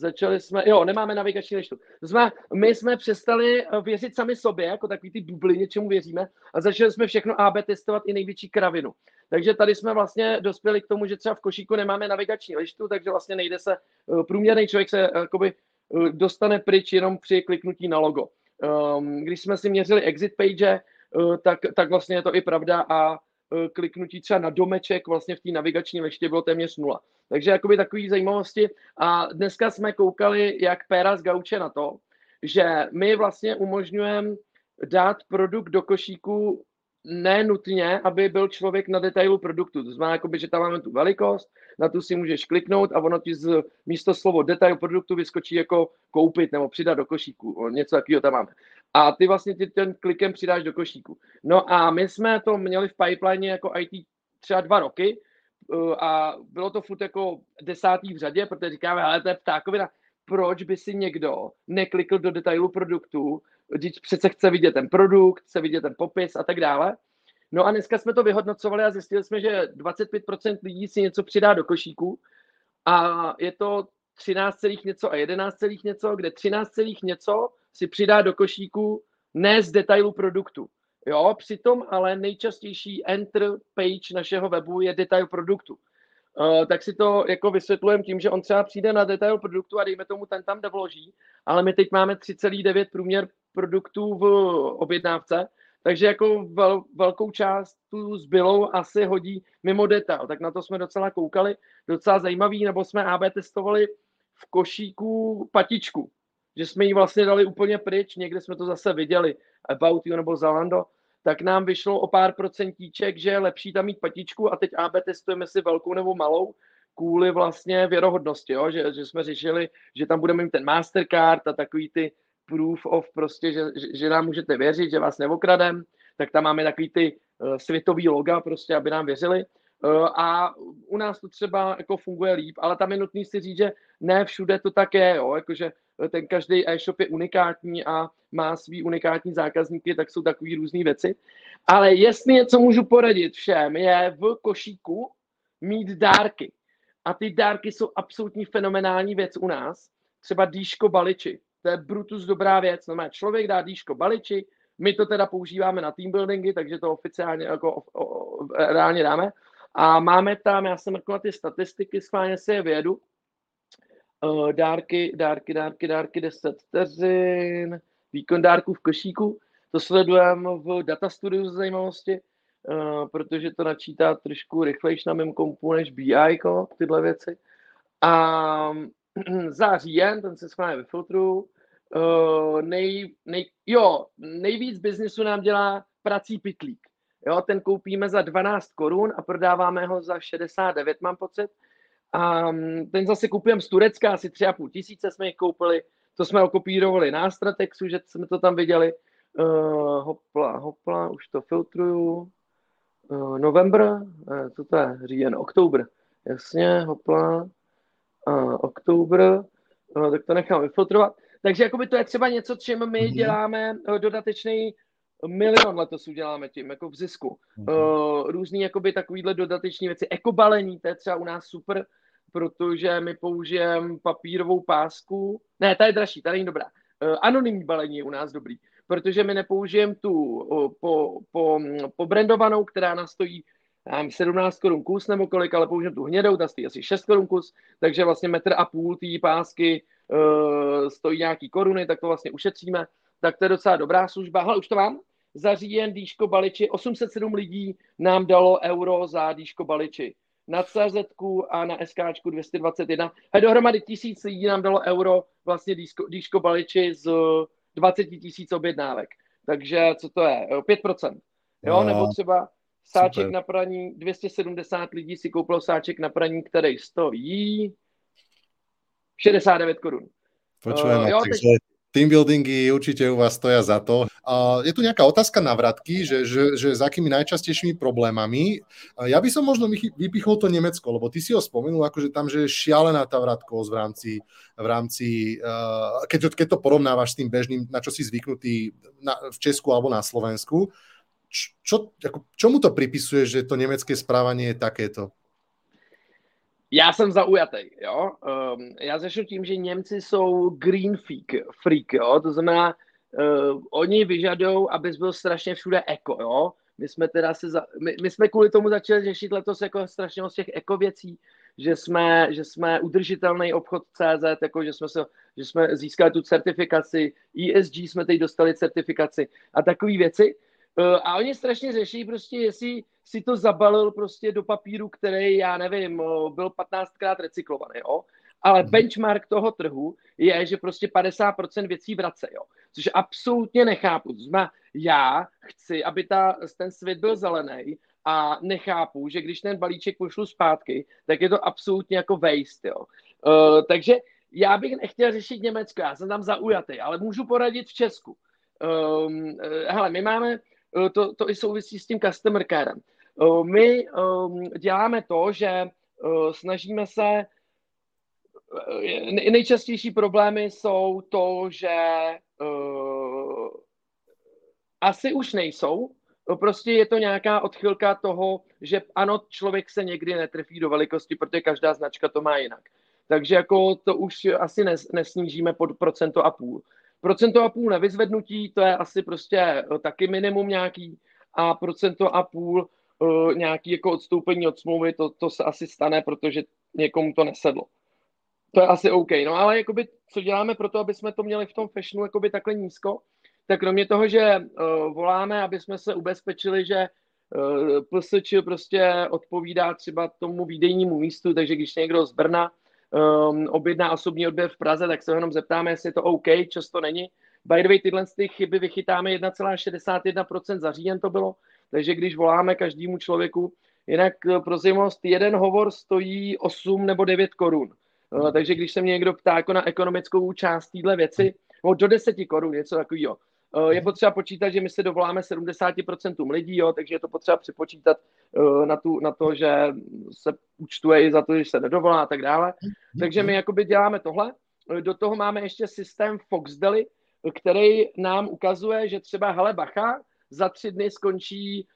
nemáme navigační lištu. To znamená, my jsme přestali věřit sami sobě, jako takový ty bubliny, čemu věříme, a začali jsme všechno AB testovat i největší kravinu. Takže tady jsme vlastně dospěli k tomu, že třeba v košíku nemáme navigační lištu, takže vlastně nejde se, průměrný člověk se jakoby dostane pryč jenom při kliknutí na logo. Když jsme si měřili exit page, tak vlastně je to i pravda a kliknutí třeba na domeček vlastně v té navigační liště bylo téměř 0. Takže jakoby takový zajímavosti. A dneska jsme koukali, jak Péra z Gauče na to, že my vlastně umožňujeme dát produkt do košíku nenutně, aby byl člověk na detailu produktu. To znamená, jakoby, že tam máme tu velikost, na tu si můžeš kliknout a ono ti místo slovo detail produktu vyskočí jako koupit nebo přidat do košíku. Něco takového tam máme. A ty vlastně ten klikem přidáš do košíku. No a my jsme to měli v pipeline jako IT třeba 2 roky a bylo to furt jako 10. v řadě, protože říkáme, ale to je ptákovina. Proč by si někdo neklikl do detailu produktu, když přece chce vidět ten produkt, chce vidět ten popis a tak dále. No a dneska jsme to vyhodnocovali a zjistili jsme, že 25% lidí si něco přidá do košíku a je to 13, něco a 11, něco, kde 13, něco si přidá do košíku ne z detailu produktu. Jo, přitom ale nejčastější enter page našeho webu je detail produktu. Tak si to jako vysvětlujeme tím, že on třeba přijde na detail produktu a dejme tomu, ten tam vloží, ale my teď máme 3,9 průměr produktů v objednávce, takže jako velkou část tu zbylou asi hodí mimo detail. Tak na to jsme docela koukali, docela zajímavý, nebo jsme AB testovali v košíku patičku, že jsme ji vlastně dali úplně pryč, někde jsme to zase viděli, About You nebo Zalando, tak nám vyšlo o pár procentíček, že je lepší tam mít patičku a teď AB testujeme si velkou nebo malou kvůli vlastně věrohodnosti, jo? Že jsme řešili, že tam budeme mít ten Mastercard a takový ty proof of prostě, že nám můžete věřit, že vás neokradem, tak tam máme takový ty světový loga prostě, aby nám věřili. A u nás to třeba jako funguje líp, ale tam je nutný si říct, že ne všude to tak je, jo? Jakože ten každý e-shop je unikátní a má svý unikátní zákazníky, tak jsou takový různý věci. Ale jestli něco můžu poradit všem, je v košíku mít dárky. A ty dárky jsou absolutní fenomenální věc u nás. Třeba dýško baliči. To je brutus dobrá věc. No, člověk dá dýško baliči, my to teda používáme na team buildingy, takže to oficiálně jako reálně dáme. A máme tam, já jsem mrkl na ty statistiky, schválně si je vědu. Dárky, 10 vteřin, výkon dárků v košíku. To sledujeme v Data Studiu z zajímavosti, protože to načítá trošku rychlejš na mém kompu než BI, tyhle věci. A za říjen, ten se schválně vyfiltruju, nejvíc biznisu nám dělá prací pytlík. Jo, ten koupíme za 12 korun a prodáváme ho za 69, mám pocit. A ten zase kupujeme z Turecka, asi 3,5 tisíce jsme jich koupili. To jsme okopírovali na Stratexu, že jsme to tam viděli. Hopla, už to filtruju. November, co to je? Říjen, oktober. Jasně, hopla. Oktober, tak to nechám vyfiltrovat. Takže jakoby to je třeba něco, čím my děláme dodatečný milion letos uděláme tím, jako v zisku. Různý jakoby takovýhle dodateční věci. Ekobalení, to je třeba u nás super, protože my použijeme papírovou pásku. Ne, ta je dražší, ta není dobrá. Anonymní balení je u nás dobrý, protože my nepoužijeme tu pobrandovanou, která nás stojí 17 korun kus nebo kolik, ale použijeme tu hnědou, ta stojí asi 6 korun kus, takže vlastně 1,5 metru té pásky stojí nějaký koruny, tak to vlastně ušetříme. Tak to je docela dobrá služba. Hele, už to mám. Za říjen Dýško Baliči, 807 lidí nám dalo euro za Dýško Baliči. Na CZ a na SKčku 221. A dohromady 1000 lidí nám dalo euro vlastně Dýško Baliči z 20 000 objednávek. Takže co to je? 5%. Jo, nebo třeba sáček super. Na praní, 270 lidí si koupilo sáček na praní, který stojí 69 korun. Počujem, takže team buildingy určite u vás stoja za to. Je tu nejaká otázka na vratky, že s akými najčastejšími problémami. Ja by som možno vypichol to Nemecko, lebo ty si ho spomenul, akože tam, že je šialená tá vratkovosť v rámci keď to porovnávaš s tým bežným, na čo si zvyknutý v Česku alebo na Slovensku. Čomu to pripisuje, že to nemecké správanie je takéto? Já jsem zaujatý, jo. Já začnu tím, že Němci jsou green freak, jo. To znamená, oni vyžadou, abys byl strašně všude eko, jo. My jsme kvůli tomu začali řešit letos jako strašně moc těch eko věcí, že jsme udržitelný obchod CZ, jako že jsme získali tu certifikaci, ESG jsme teď dostali certifikaci a takové věci. A oni strašně řeší prostě, jestli si to zabalil prostě do papíru, který, já nevím, byl 15krát recyklovaný, jo. Ale benchmark toho trhu je, že prostě 50% věcí vrace, jo. Což absolutně nechápu. To znamená, já chci, aby ten svět byl zelený a nechápu, že když ten balíček pošlu zpátky, tak je to absolutně jako waste, jo. Takže já bych nechtěl řešit Německo, já jsem tam zaujatý, ale můžu poradit v Česku. Hele, my máme to i souvisí s tím customer carem. My děláme to, že snažíme se, nejčastější problémy jsou to, že asi už nejsou, prostě je to nějaká odchylka toho, že ano, člověk se někdy netrefí do velikosti, protože každá značka to má jinak. Takže jako to už asi nesnížíme pod 1,5%. 1,5% na vyzvednutí, to je asi prostě taky minimum nějaký a 1,5% nějaký jako odstoupení od smlouvy, to se asi stane, protože někomu to nesedlo. To je asi OK. No ale jakoby, co děláme pro to, aby jsme to měli v tom fashionu jakoby takhle nízko, tak kromě toho, že voláme, aby jsme se ubezpečili, že PSČ prostě odpovídá třeba tomu výdejnímu místu, takže když někdo z Brna objedná osobní odběr v Praze, tak se jenom zeptáme, jestli je to OK, často není. By the way, tyhle z těch chyby vychytáme 1,61% za říjen to bylo, takže když voláme každému člověku, jinak pro zajímavost, jeden hovor stojí 8 nebo 9 korun. Takže když se mě někdo ptá jako na ekonomickou část téhle věci, do 10 korun, něco takového. Je potřeba počítat, že my se dovoláme 70% lidí, jo, takže je to potřeba připočítat na to, že se účtuje i za to, že se nedovolá a tak dále. Takže my jakoby děláme tohle. Do toho máme ještě systém Foxdeli, který nám ukazuje, že třeba hele bacha, za 3 dny skončí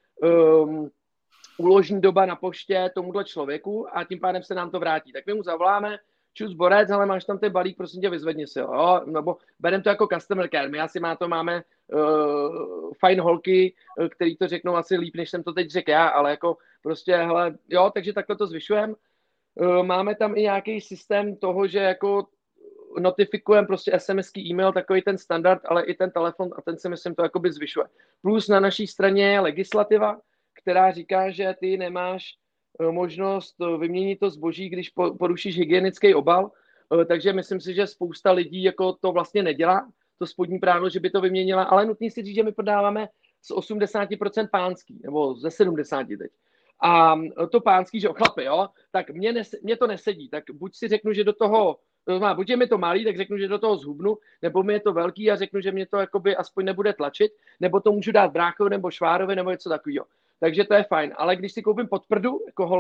úložní doba na poště tomuhle člověku a tím pádem se nám to vrátí. Tak my mu zavoláme, čus borec, ale máš tam ten balík, prosím tě, vyzvedni si ho. Jo? Nebo bereme to jako customer care. My asi máme fajn holky, který to řeknou asi líp, než jsem to teď řekl já, ale jako prostě, hele, jo, takže takhle to zvyšujeme. Máme tam i nějaký systém toho, že jako notifikujeme prostě SMS-ký e-mail, takový ten standard, ale i ten telefon a ten si myslím to jakoby zvyšuje. Plus na naší straně je legislativa, která říká, že ty nemáš možnost vyměnit to zboží, když porušíš hygienický obal, takže myslím si, že spousta lidí jako to vlastně nedělá, to spodní prádlo, že by to vyměnila, ale nutný si říct, že my prodáváme z 80% pánský, nebo ze 70% teď. A to pánský, že chlapi, jo, tak mě to nesedí, tak buď si řeknu, že do toho, buď je mi to malý, tak řeknu, že do toho zhubnu, nebo mi je to velký a řeknu, že mě to jakoby aspoň nebude tlačit, nebo to můžu dát bráchovi nebo švárovi nebo něco takového. Takže to je fajn. Ale když si koupím podprdu jako holka,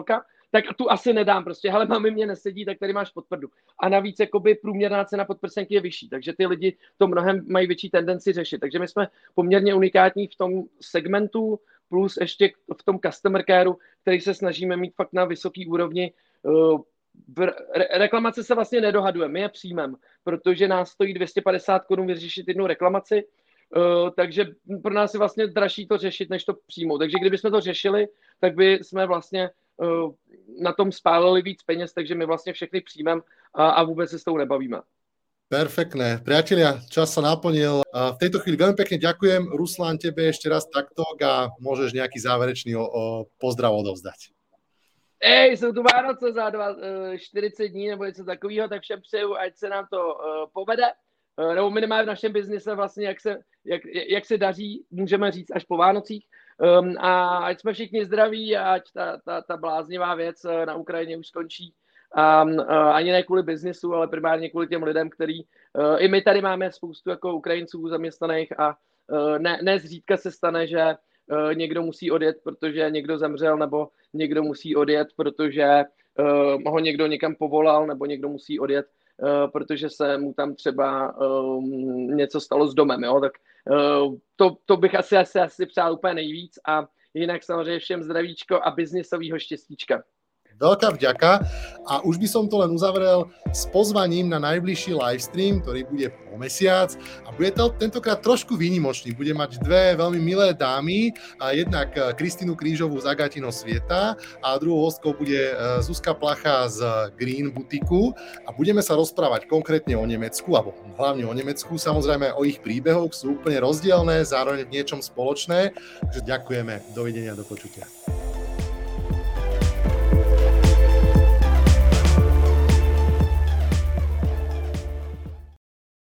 tak tu asi nedám prostě, hele, mami mě nesedí, tak tady máš podprdu. A navíc jakoby průměrná cena podprsenky je vyšší, takže ty lidi to mnohem mají větší tendenci řešit. Takže my jsme poměrně unikátní v tom segmentu, plus ještě v tom customer careu, který se snažíme mít fakt na vysoký úrovni. Reklamace se vlastně nedohadujeme, my je přijmeme, protože nás stojí 250 Kč vyřešit jednu reklamaci, takže pro nás je vlastně dražší to řešit, než to přijmout. Takže kdybychom to řešili, tak by jsme vlastně na tom spálili víc peněz, takže my vlastně všechny přijmeme a vůbec se s tou nebavíme. Perfektné. Priatelia, čas sa naplnil. V tejto chvíli veľmi pekne ďakujem. Ruslan, tebe ešte raz takto a môžeš nejaký záverečný pozdrav odovzdať. Jsou tu Vánoce za 40 dní nebo něco takového, tak všem přeju, ať se nám to povede. Nebo minimálně v našem biznise vlastně, jak se daří, můžeme říct až po Vánocích. A ať jsme všichni zdraví a ať ta bláznivá věc na Ukrajině už skončí. Ani ne kvůli biznisu, ale primárně kvůli těm lidem, který i my tady máme spoustu jako Ukrajinců zaměstnaných a ne zřídka se stane, že někdo musí odjet, protože někdo zemřel, nebo někdo musí odjet, protože ho někdo někam povolal, nebo někdo musí odjet, protože se mu tam třeba něco stalo s domem. Jo? Tak to bych asi přál úplně nejvíc a jinak samozřejmě všem zdravíčko a biznisovýho štěstíčka. Veľká vďaka a už by som to len uzavrel s pozvaním na najbližší livestream, ktorý bude po mesiac a bude to tentokrát trošku výnimočný. Bude mať dve veľmi milé dámy, a jednak Kristínu Krížovú z Agatino Svieta a druhou hostkou bude Zuzka Placha z Green Butiku a budeme sa rozprávať konkrétne o Nemecku, alebo hlavne o Nemecku, samozrejme o ich príbehoch, sú úplne rozdielne, zároveň v niečom spoločné. Takže ďakujeme, dovidenia, do počutia.